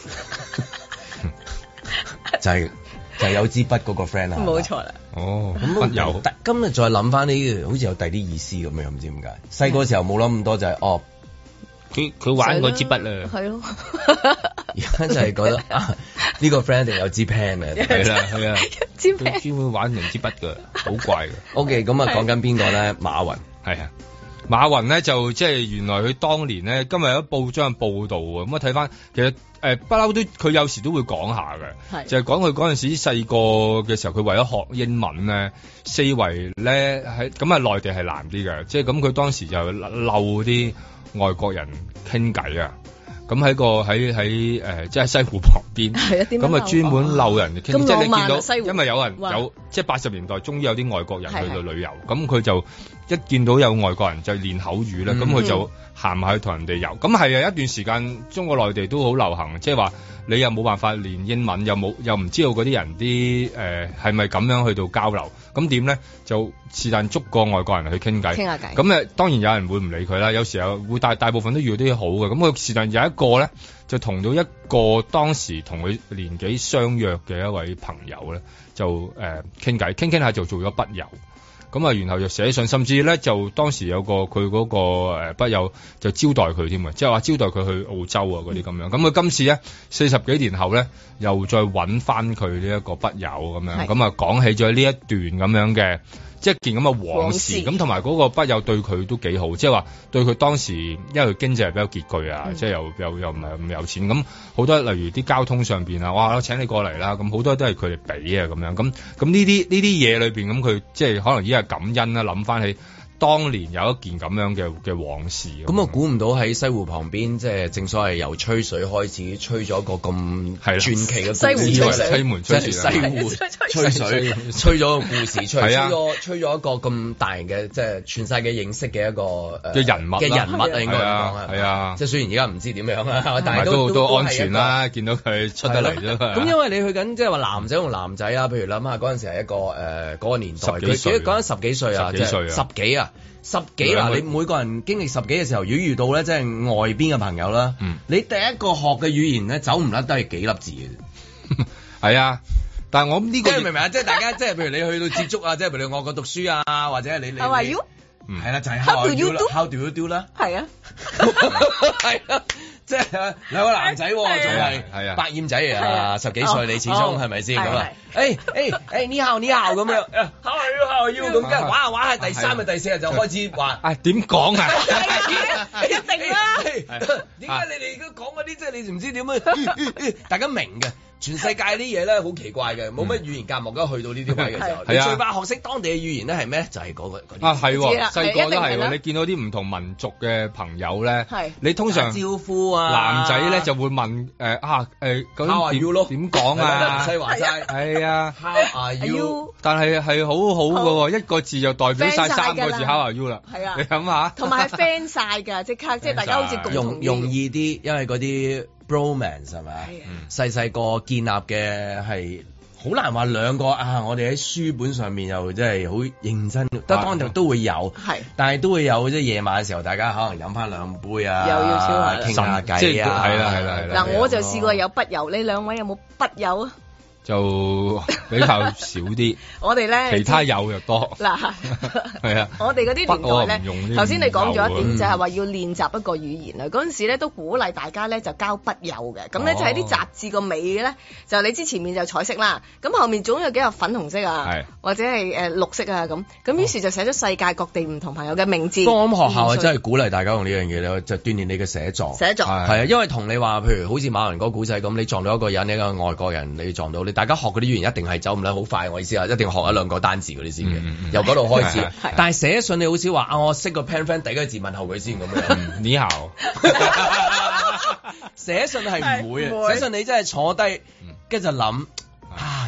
就係、是、就係、是、有支筆嗰個 friend 啊。 冇錯啦。 哦， 咁有。 今日再諗翻呢，好似有第啲意思咁樣，唔知點解。細個時候冇諗咁多，就係、是、哦。 佢佢玩嗰支筆啊， 係咯。 而家就係覺得啊，呢個 friend 一定有支 pen 嘅， 係啦係啊， 支 pen 專門玩人支筆㗎，好怪㗎。 OK，咁啊講緊邊個咧？馬雲係啊，馬雲咧就即係原來佢當年咧，今日有報章報導啊，咁啊睇翻其實誒不嬲都佢有時都會講下嘅，就係講佢嗰陣時細個嘅時候，佢為咗學英文咧，四圍咧喺咁啊內地係難啲嘅，即係咁佢當時就漏啲外國人傾偈啊，咁喺個喺喺誒即係西湖旁邊，咁啊專門漏人傾，即係你見到，因為有人有即係八十年代終於有啲外國人去到旅遊，咁佢就一見到有外國人就練口語啦，咁佢、嗯、就行埋去同人哋遊，咁係啊一段時間中國內地都好流行，即係話你又冇辦法練英文，又冇又唔知道嗰啲人啲誒係咪咁樣去到交流，咁點咧就是但捉個外國人去傾偈，傾下偈，咁誒當然有人會唔理佢啦，有時候會大大部分都遇到啲好嘅，咁佢是但有一個咧就同到一個當時同佢年紀相約嘅一位朋友咧就誒傾偈，傾傾下就做咗筆友。咁啊，然後就寫信，甚至咧就當時有個佢嗰個誒筆友就招待佢添啊，即係話招待佢去澳洲啊嗰啲咁樣。咁佢、嗯、今次咧四十幾年後咧，又再揾翻佢呢一個筆友咁樣，咁啊講起咗呢一段咁樣嘅。即係件咁嘅往事，咁同埋嗰個筆友對佢都幾好，即係話對佢當時，因為佢經濟係比較拮據啊，嗯、即係又又又唔係咁有錢，咁好多例如啲交通上邊啊，哇，我請你過嚟啦，咁好多都係佢哋俾啊咁樣，咁咁呢啲呢啲嘢裏邊，咁佢即係可能依家感恩啦，諗翻起當年有一件咁樣嘅嘅往事。咁我估唔到喺西湖旁邊，即係正所謂由吹水開始，吹咗個咁傳奇嘅故事。 西湖吹水， 西門吹水， 西湖吹水，吹咗個故事出嚟，吹咗吹咗一個咁大型嘅，即係全世界認識嘅一個嘅人物嘅人物啊，應該咁講啊，係啊， 即係雖然而家唔知點樣啊，但係都都安全啦，見到佢出得嚟啫。 咁因為你去緊即係話男仔同男仔啊，譬如諗下嗰陣時係一個誒嗰個年代，佢幾講緊十幾歲啊，即係十幾啊。十幾嗱，你每個人經歷十幾嘅時候，如果遇到咧，即係外邊嘅朋友啦，嗯、你第一個學嘅語言咧，走唔甩都係幾粒字嘅。 係啊，但係我呢個， 即係明唔明啊？即係大家，即係譬如你去到接觸啊，即係譬如你外國讀書啊，或者你你。How are you？係啦，就係 How do you do？How do you do 啦？係啊，係啊。即係兩個男仔，仲係百厭仔啊！十幾歲你始終係咪先咁啊？誒誒誒，你好你好咁樣，How are you How are you 咁，跟住玩下玩下，第三日第四日就開始話啊點講啊？ 一定啦！ 點解你哋而家講嗰啲即係你唔知點樣？大家明嘅。全世界啲嘢咧好奇怪嘅，冇乜語言隔膜，咁去到呢啲位嘅時候，你最怕學識當地嘅語言咧係咩？就係嗰個嗰啲啊係喎，細個都係喎。你見到啲唔同民族嘅朋友咧，你通常招呼啊， 男仔咧就會問誒啊誒咁點點講啊？ 西華齋係啊 ，How are you？ 但係係好好嘅喎，一個字就代表晒三個字 How are you 啦。係啊，你諗下， 同埋係 friend 晒㗎，即刻即係大家好似共同容容易啲，因為嗰啲。Bromance 係咪？細細個建立嘅係好難話兩個啊！我哋喺書本上面又真係好認真，得當然都會有，但係都會有即係夜晚嘅時候，大家可能飲翻兩杯啊， 又要超下傾下偈啊， 係啦係啦係啦。 嗱，我就試過有筆友，你兩位有冇筆友啊？ 就比較少啲， 我哋咧其他有又多。 嗱， 係啊， 我哋嗰啲年代咧，頭先你講咗一點，就係話要練習一個語言啊。嗰陣時咧都鼓勵大家咧就交筆友嘅，咁咧就喺啲雜誌個尾咧，就你知前面就彩色啦，咁後面總有幾個粉紅色啊，或者係誒綠色啊咁，咁於是就寫咗世界各地唔同朋友嘅名字。 不過咁學校啊真係鼓勵大家用呢樣嘢咧，就鍛鍊你嘅寫作。 寫作係啊，因為同你話，譬如好似馬雲嗰個古仔咁，你撞到一個人，一個外國人，你撞到你。大家學嗰啲語言一定係走唔甩好快，我意思啊，一定要學一兩個單字嗰啲先嘅，嗯、由嗰度開始。但係寫信你好少話啊，我識個 pen friend 第一個字問候佢先咁樣。 你好。 寫信係唔會啊，寫信你真係坐低，跟住就諗啊，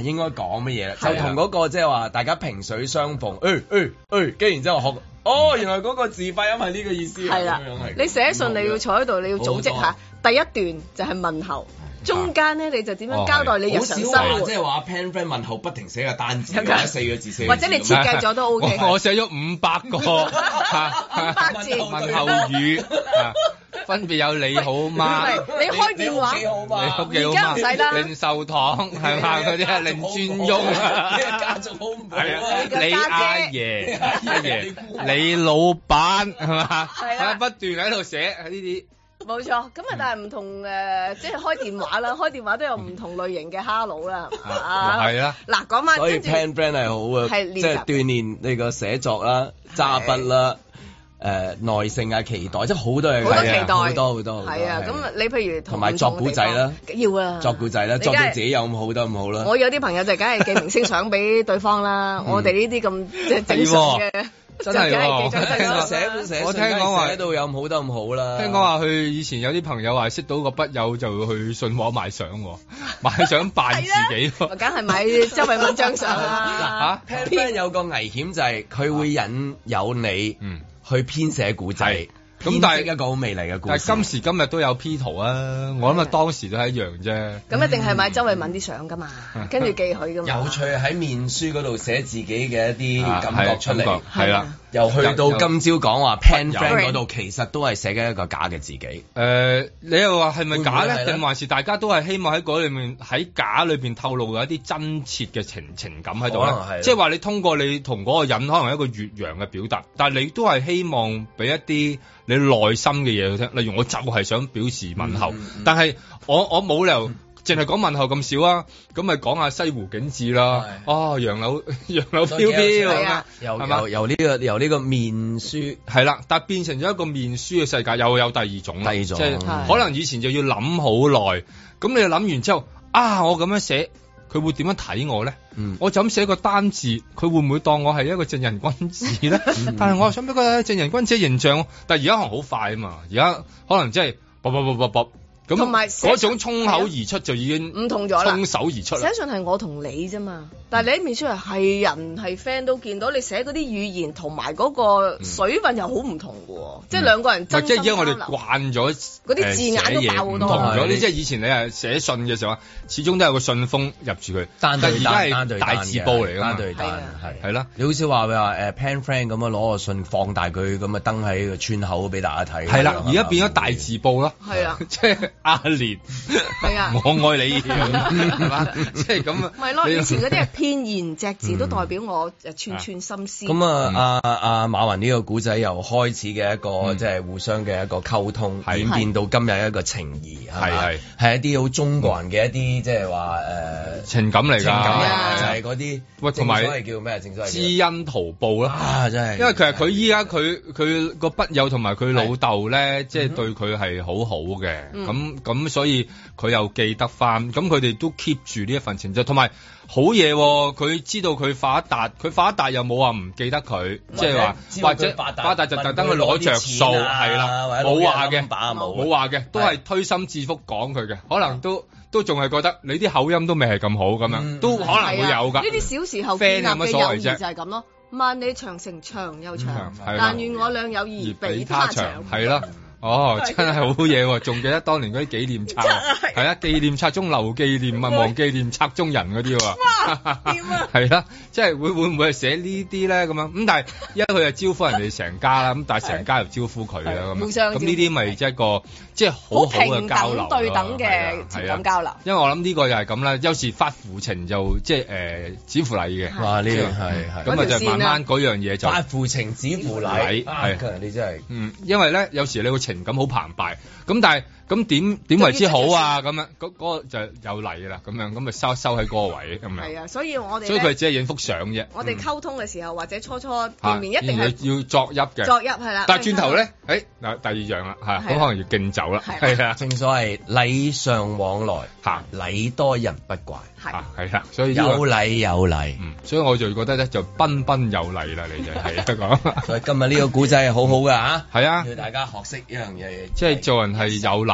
應該講乜嘢啦？就同嗰個即係話大家萍水相逢，誒誒誒，跟住然之後學，哦，原來嗰個字發音係呢個意思。係啦， 你寫信你要坐喺度，你要組織下，第一段就係問候。中間咧你就點樣交代你日常生活？ 即係話 pen friend 問候不停寫個單字，或者四個字四個字， 或者你設計咗都 O K。 我寫咗五百個五百字問候語，分別有你好嗎？ 你開電話， 你屋企好嗎？令壽堂係嘛嗰啲啊，令尊翁啊， 家族好唔好？ 係啊，你阿爺阿爺，你老闆係嘛？係啊，不斷喺度寫呢啲。 冇錯，咁啊，但係唔同誒，即係開電話啦，開電話都有唔同類型嘅 hello 啦， 係啦。 嗱，講翻， 所以 pen friend 係好嘅，即係鍛鍊你個寫作啦、揸筆啦、誒耐性啊、期待，即係好多嘢， 好多期待， 好多好多。 係啊，咁你譬如同埋作古仔啦， 要啊， 作古仔啦，作到自己有咁好得咁好啦。 我有啲朋友就梗係寄明星相俾對方啦，我哋呢啲咁即係正常嘅。 真係喎！ 我聽講話寫到有咁好得咁好啦。 聽講話佢以前有啲朋友話識到個筆友就去信和買相，買相扮自己。 梗係買周慧敏張相啦。 嚇 pen 有個危險就係佢會引誘你去編寫古仔。咁但係一個好美麗嘅故事， 但係今時今日都有 P 圖啊！我諗啊，當時都係一樣啫。 咁一定係買周慧敏啲相噶嘛，跟住寄佢噶嘛。 有趣喺面書嗰度寫自己嘅一啲感覺出嚟， 係啦。 又去到今朝講話 pen friend 嗰度，其實都係寫緊一個假嘅自己。 誒，你又話係咪假咧？定還是大家都係希望喺嗰裏面喺假裏邊透露一啲真切嘅情情感喺度咧？即係話你通過你同嗰個人可能係一個越洋嘅表達，但係你都係希望俾一啲你內心嘅嘢去聽。例如我就係想表示問候，但係我我冇理由淨係講問候咁少啊，咁咪講下西湖景致啦。哦，楊柳楊柳飄飄咁啊， 由由由呢個由呢個面書係啦，但係變成咗一個面書嘅世界，又有第二種， 第二種即係可能以前就要諗好耐，咁你諗完之後啊，我咁樣寫，佢會點樣睇我咧？嗯、我就咁寫個單字，佢會唔會當我係一個正人君子咧？嗯、但係我又想俾個正人君子嘅形象，但係而家可能好快啊嘛，而家可能即係啵啵啵啵啵。咁嗰種衝口而出就已經唔同咗啦， 衝手而出啦。 寫信係我同你啫嘛，但係你喺面書係係人係 friend 都見到你寫嗰啲語言同埋嗰個水分又好唔同嘅喎，嗯、即係兩個人真心交流。即係而家我哋慣咗嗰啲字眼都爆好多。唔同咗啲，即係以前你係寫信嘅時候，始終都有個信封入住佢。但係而家係大字報嚟㗎嘛，單對單係係啦。你好少話話誒 pen friend 咁樣攞個信放大佢咁啊登喺個村口俾大家睇。 係啦，而家變咗大字報咯。 係啊， 即係。阿蓮，係啊，我愛你，係嘛？即係咁啊。 咪咯，以前嗰啲係片言隻字都代表我誒串串心思。 咁啊，阿阿馬雲呢個古仔由開始嘅一個即係互相嘅一個溝通，演變到今日一個情誼，係係係一啲好中國人嘅一啲即係話誒情感嚟㗎， 情感嚟就係嗰啲喂，同埋叫咩？正所謂知恩圖報啦， 啊真係。 因為其實佢依家佢佢個筆友同埋佢老豆咧，即係對佢係好好嘅，咁。咁所以佢又記得翻，咁佢哋都 keep 住呢一份情誼，同埋好嘢，佢知道佢發達，佢發達又冇話唔記得佢，即係話或者發達就特登去攞着數，係啦，冇話嘅，冇話嘅，都係推心置腹講佢嘅，可能都都仲係覺得你啲口音都未係咁好咁樣，都可能會有噶。 呢啲小時候建立嘅友誼就係咁咯，萬里長城長又長，但願我倆友誼比他長， 係啦。哦，真係好嘢喎！仲記得當年嗰啲紀念冊，係啊，紀念冊中留紀念啊，忘紀念冊中人嗰啲喎。哇！點啊？係啦，即係會會唔會係寫呢啲咧咁樣？咁但係因為佢係招呼人哋成家啦，咁但係成家又招呼佢啦咁。咁呢啲咪即係一個即係好好嘅交流咯。 對等嘅情感交流。 因為我諗呢個又係咁啦，有時發乎情就即係誒止符禮嘅。 哇！呢個係係。 咁啊就慢慢嗰樣嘢就發乎情止符禮。係，你真係嗯，因為咧有時你會情感好澎湃，咁但係咁點點為之好啊？咁樣嗰嗰個就有嚟啦，咁樣咁咪收收喺嗰個位咁樣。係啊，所以我哋所以佢只係影幅相啫。 我哋溝通嘅時候或者初初見面一定係要作揖嘅。 作揖係啦。 但係轉頭咧，誒嗱第二樣啦嚇，咁可能要敬酒啦。係啊， 正所謂禮尚往來嚇，禮多人不怪。 係係啊，所以有禮有禮。 所以我就覺得咧就彬彬有禮啦，你就係一個。 所以今日呢個古仔係好好㗎嚇。 係啊， 要大家學識一樣嘢， 即係做人係有禮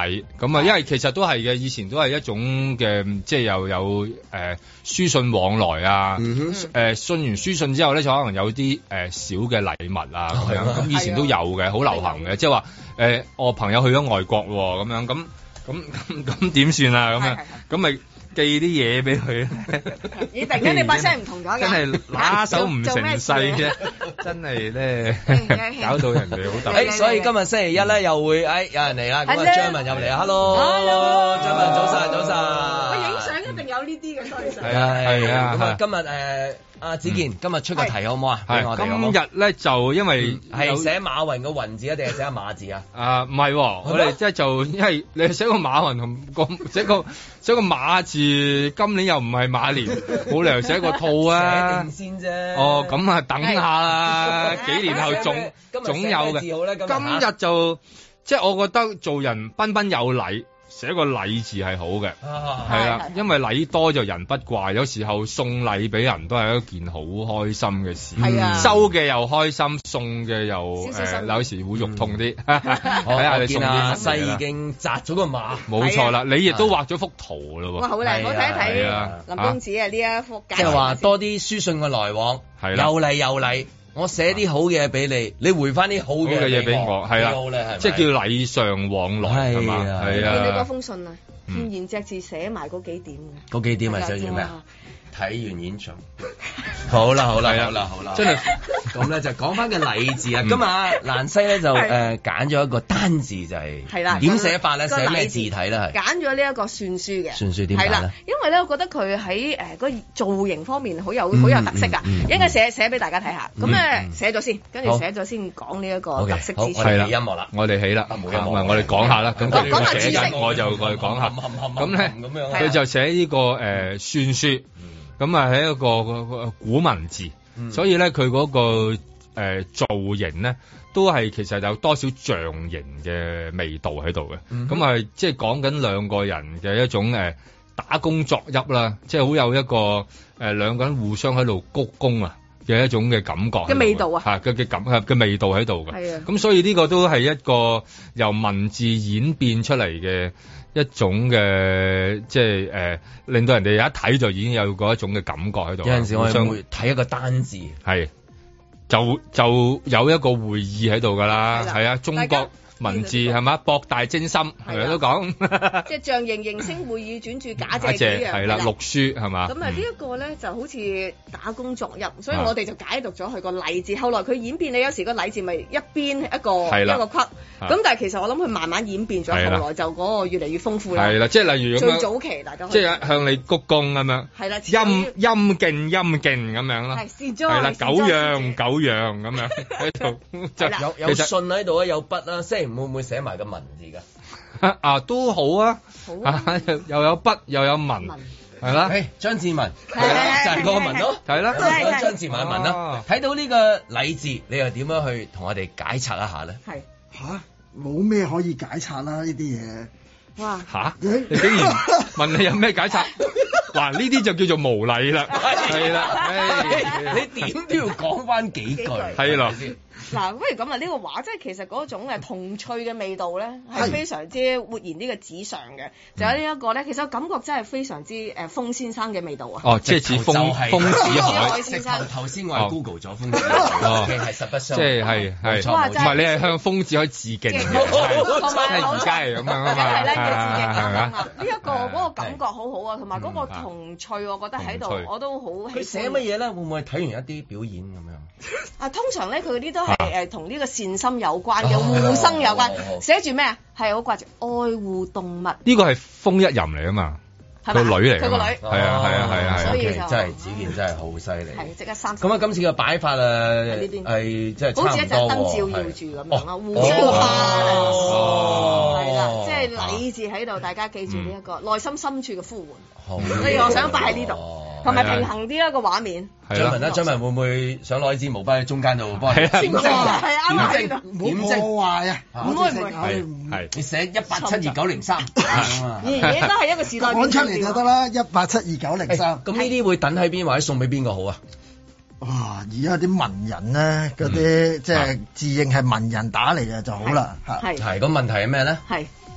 禮，咁啊，因為其實都係嘅，以前都係一種嘅，即係又有誒、呃、書信往來啊，誒、嗯呃、信完書信之後咧，就可能有啲誒、呃、小嘅禮物啊咁樣，咁以前都有嘅，好流行嘅，即係話誒我朋友去咗外國喎，咁樣咁咁咁咁點算啊？咁樣咁咪寄啲嘢俾佢。 咦！突然間你把聲唔同咗嘅， 真係拿手唔成勢啫，真係咧搞到人哋好特別。 誒，所以今日星期一咧又會誒有人嚟啦，咁啊張文入嚟啊 ，hello，張文早晨早晨。 我影相一定有呢啲嘅，多謝。 係啊係啊，咁啊今日誒。阿子健，今日出個題好唔好啊？俾我哋今日咧就因為係寫馬雲個雲字啊，定係寫馬字啊？ 啊，唔係，我哋即係就因為你寫個馬雲同個寫個寫個馬字，今年又唔係馬年，冇理由寫個兔啊！ 寫定先啫。 哦，咁啊，等下啦，幾年後總總有嘅。今日就即係我覺得做人彬彬有禮。寫個禮字係好嘅，係啦、啊，因為禮多就人不怪，有時候送禮俾人都係一件好開心嘅事，啊、收嘅又開心，送嘅又誒、呃、有時會肉痛啲。睇下你送啲乜嘢啦。 西已經紮咗個馬， 冇錯啦，你亦都畫咗幅圖咯喎。 哇，好靚，我睇一睇林公子啊呢一幅。 即係話多啲書信嘅來往，有禮有禮。我寫啲好嘢俾你，你回翻啲好嘅嘢俾我， 係啦，即係叫禮尚往來係嘛？係啊， 見你嗰封信啊，片言隻字寫埋嗰幾點嘅， 嗰幾點係寫住咩啊？睇完演唱，好啦好啦好啦好啦，真係咁咧就講翻個禮字啊！今日蘭西咧就誒揀咗一個單字就係係啦，點寫法咧？寫咩字體咧？係揀咗呢一個算書嘅算書點解咧？ 因為咧，我覺得佢喺誒個造型方面好有好有特色㗎，應該寫寫俾大家睇下。咁咧寫咗先，跟住寫咗先講呢一個特色之處。 係啦，音樂啦，我哋起啦，唔係我哋講下啦。咁佢寫緊，我就我哋講下。咁咧，佢就寫呢個誒算書。咁啊係一個古文字，嗯、所以咧佢嗰個誒、呃、造型咧都係其實有多少象形嘅味道喺度嘅。咁啊、嗯、即係講緊兩個人嘅一種誒、呃、打工作揖啦，即係好有一個誒、呃、兩個人互相喺度鞠躬啊嘅一種嘅感覺嘅味道啊， 嚇嘅嘅感嘅味道喺度嘅。係啊，咁所以呢個都係一個由文字演變出嚟嘅。一種嘅即係誒、呃，令到人哋一睇就已經有嗰一種嘅感覺喺度。 有陣時我哋會睇一個單字， 係就就有一個會意喺度㗎啦。係啊，中國文字係嘛，博大精深，係咪都講？ 即係象形形聲會意轉注假借幾樣， 係啦，六書係嘛？ 咁啊，呢一個咧就好似打工作揖，所以我哋就解讀咗佢個禮字。後來佢演變，你有時個禮字咪一邊一個一個框，咁但係其實我諗佢慢慢演變咗，後來就嗰個越嚟越豐富啦。係啦，即係例如最早期大家即係向你鞠躬咁樣，係啦，陰陰敬陰敬咁樣咯，係啦，九樣九樣咁樣喺度， 有有信喺度啊，有筆啦，即係會唔會寫埋個文字㗎？ 啊，都好啊，啊又有筆又有文，係啦。 誒，張志文就係個文咯， 係啦， 張志文嘅文啦。睇到呢個禮字，你又點樣去同我哋解拆一下咧？係吓，冇咩可以解拆啦呢啲嘢。 哇！ 吓，你竟然問你有咩解拆？嗱，呢啲就叫做無禮啦，係啦， 你點都要講翻幾句， 係咯。 嗱，不如咁啊！呢個畫即係其實嗰種誒童趣嘅味道咧，係非常之活現呢個紙上嘅。就有呢一個咧，其實感覺真係非常之誒風先生嘅味道啊！ 哦，即係似風風子海先生。頭先我係 Google 咗風子海，係實不相。 即係係係，唔係你係向風子海致敬嘅， 同埋而家係咁樣啊嘛， 係咧要致敬咁樣啊！呢一個嗰個感覺好好啊，同埋嗰個童趣，我覺得喺度我都好喜歡。 佢寫乜嘢咧？會唔會睇完一啲表演咁樣？ 啊，通常咧佢嗰啲都係誒同呢個善心有關嘅，護生有關。寫住咩啊？係好掛住愛護動物。 呢個係風一人嚟啊嘛，個女嚟。 佢個女。 係啊係啊係啊， 所以真係子健真係好犀利。 係即刻三。 咁啊，今次嘅擺法啊，係即係差唔多喎。 好似一盞燈照耀住咁樣啊，護超花。哦。係啦，即係禮字喺度，大家記住呢一個內心深處嘅呼喚。好。所以我想擺喺呢度。同埋平衡啲一個畫面。 張文啦，張文會唔會想攞支毛筆喺中間度幫你點正？ 係啱點正？點正？ 破壞啊！ 唔會唔會係係你寫一八七二九零三啊！ 而家都係一個時代講出嚟就得啦，一八七二九零三。 咁呢啲會等喺邊或者送俾邊個好啊？ 哇！而家啲文人咧，嗰啲即係自認係文人打嚟嘅就好啦。 係係個問題係咩咧？ 係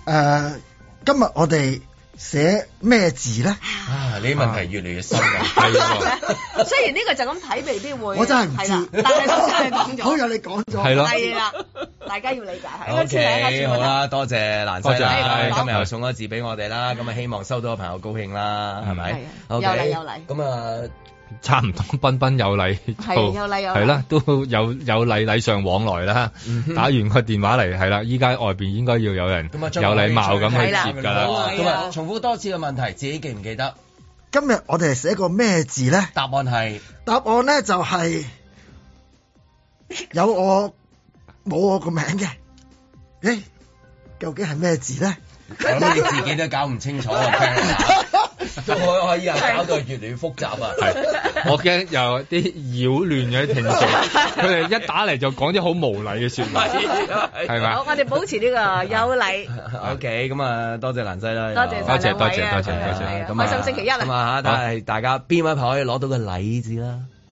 呃，今日我哋寫咩字咧？ 啊，呢啲問題越嚟越深㗎。係喎。 雖然呢個就咁睇未必會， 我真係唔知。 但係都真係講咗。 好有你講咗。 係咯。 係啦，大家要理解係。 O K，好啦，多謝蘭西啦，今日又送咗字俾我哋啦，咁啊希望收到嘅朋友高興啦，係咪？ 有禮有禮。 咁啊。 差唔多，彬彬有禮， 係有禮有禮， 係啦，都有有禮禮上往來啦。嗯、打完個電話嚟，係啦，依家外邊應該要有人有禮貌咁去接㗎啦。 咁啊，重複多次嘅問題，自己記唔記得？ 今日我哋寫個咩字咧？ 答案係答案咧就係、是、有我冇我個名嘅。誒，究竟係咩字咧？ 我諗你自己都搞唔清楚啊！都可可以啊，搞到越嚟越複雜啊！ 係，我驚有啲擾亂嘅聽眾，佢哋一打嚟就講啲好無禮嘅説話，係咪？ 好，我哋保持呢個有禮。 O K，咁啊，多謝蘭西啦， 多謝多謝多謝多謝多謝， 開心星期一啦！ 咁啊，但係大家邊位朋友可以攞到個禮字啦？